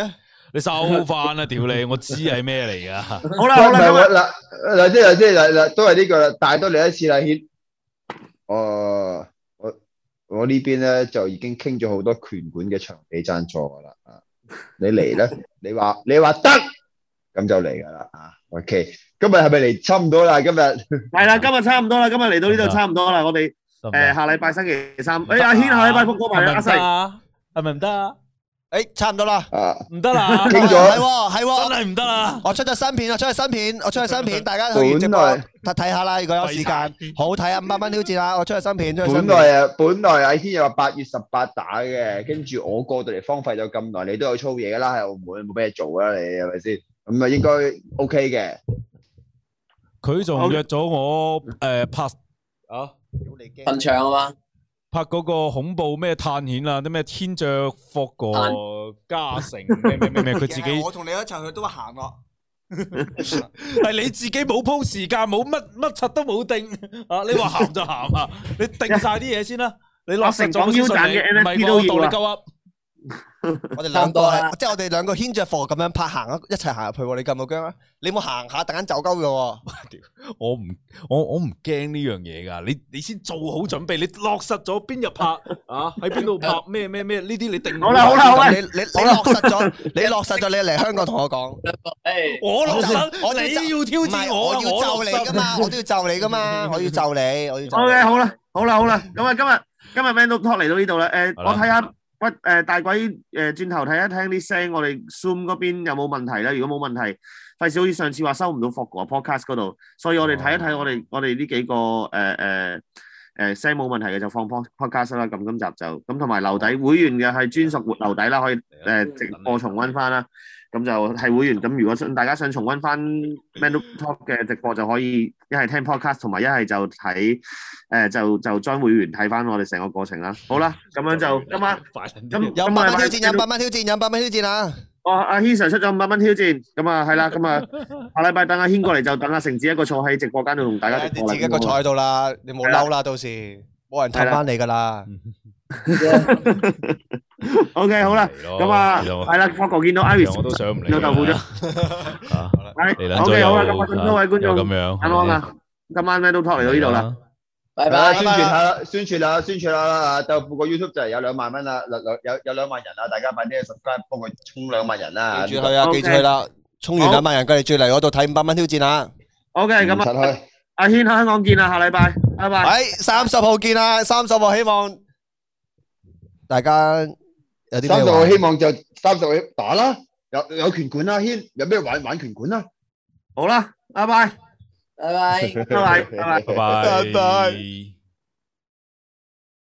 你收翻啦，屌你！我知係咩嚟噶。 好啦好啦，今日嗱嗱即係即係嗱嗱都係呢個啦，帶多你一次啦，軒。哦，我我呢邊咧就已經傾咗好多拳館嘅場地贊助噶啦啊！你嚟咧，你話你話得，咁就嚟噶啦啊 ！OK， 今日係咪嚟差唔多啦？今日係啦，今日差唔多啦，今日嚟到呢度差唔多啦，我哋誒下禮拜星期三，誒阿軒下禮拜復過埋阿細， 係咪唔得啊？ 誒，差唔多啦， 啊， 唔得啦， 傾咗係喎係喎， 真係唔得啦！ 我出咗新片，我出咗新片，我出咗新片，大家去完直播本來睇睇下啦，如果有時間，好睇啊！五百蚊挑戰啦，我出咗新片，出咗新本片。 來啊，本來阿軒又話八月十八打嘅，跟住我過到嚟荒廢咗咁耐，你都有操嘢啦，喺澳門冇咩做啦，你係咪先？咁啊應該 OK 嘅。 佢仲約咗我誒拍啊墳場啊嘛， 拍嗰個恐怖咩探險啊，啲咩天着霍個加成咩咩咩咩，佢自己我同你一齊去都行咯。 係你自己冇鋪時間，冇乜乜柒都冇定啊！你話行就行啊！你定晒啲嘢先啦，你落實咗先順利，唔係我當你鳩噏。 我哋兩個係，即係我哋兩個牽着貨咁樣拍行一齊行入去喎，你驚唔驚啊？你冇行下，突然間走鳩嘅喎。 我唔，我我唔驚呢樣嘢噶，你你先做好準備，你落實咗邊日拍啊？喺邊度拍咩咩咩？呢啲你定好啦好啦好啦， 你你你落實咗，你落實咗，你嚟香港同我講。 我落實， 我你要挑戰我， 我要就你噶嘛，我都要就你噶嘛，我要就你，我要就。 O K 好啦好啦好啦，咁啊今日今日 Man Talk 嚟到呢度啦，誒我睇下。喂，誒大鬼誒轉頭睇一聽啲聲，我哋 Zoom 嗰邊有冇問題咧？如果冇問題，費事好似上次話收唔到 Fog 個 podcast 嗰度，所以我哋睇一睇我哋我哋呢幾個誒誒誒聲冇問題嘅就放 podcast 啦。咁今集就咁同埋留底會員嘅係專屬活留底啦，可以誒直播重溫翻啦。咁就係會員，咁如果想大家想重溫翻 Man Talk 嘅直播，就可以一係聽 podcast， 同埋一係就睇誒、呃、就就 join 會員睇翻我哋成個過程啦。好啦，咁樣就今晚咁有百蚊挑戰，有百蚊挑戰，有百蚊挑戰啊！ 哦，阿軒 Sir 出咗五百蚊挑戰，咁啊係啦，咁啊下禮拜等阿軒過嚟就等阿成子一個坐喺直播間度同大家直播啦。 你自己一個坐喺度啦，你冇嬲啦，到時冇人氹翻你噶啦。 O K 好啦，咁啊係啦，發覺見到 Iris 我都想唔嚟， 見到豆腐咗。係 O K 好啦，咁啊咁多位觀眾咁樣， 安安啊，今晚咩都 talk 嚟到呢度啦。 拜拜。 宣傳下啦，宣傳下，宣傳下啦！豆腐個 YouTube 就係有兩萬蚊啦，兩兩有有兩萬人啦，大家快啲去 subscribe 幫佢衝兩萬人啦！ 記住去啊，記住去啦！衝完兩萬人，佢哋最嚟嗰度睇五百蚊挑戰啊 ！O K，咁啊，阿軒喺香港見啦，下禮拜，拜拜。 喺三十號見啦，三十號希望大家有啲咩玩？ 三十號希望就三十號打啦，有有拳館啦，軒有咩玩玩拳館啦？ 好啦，拜拜， 拜拜， 拜拜，拜拜， 拜拜。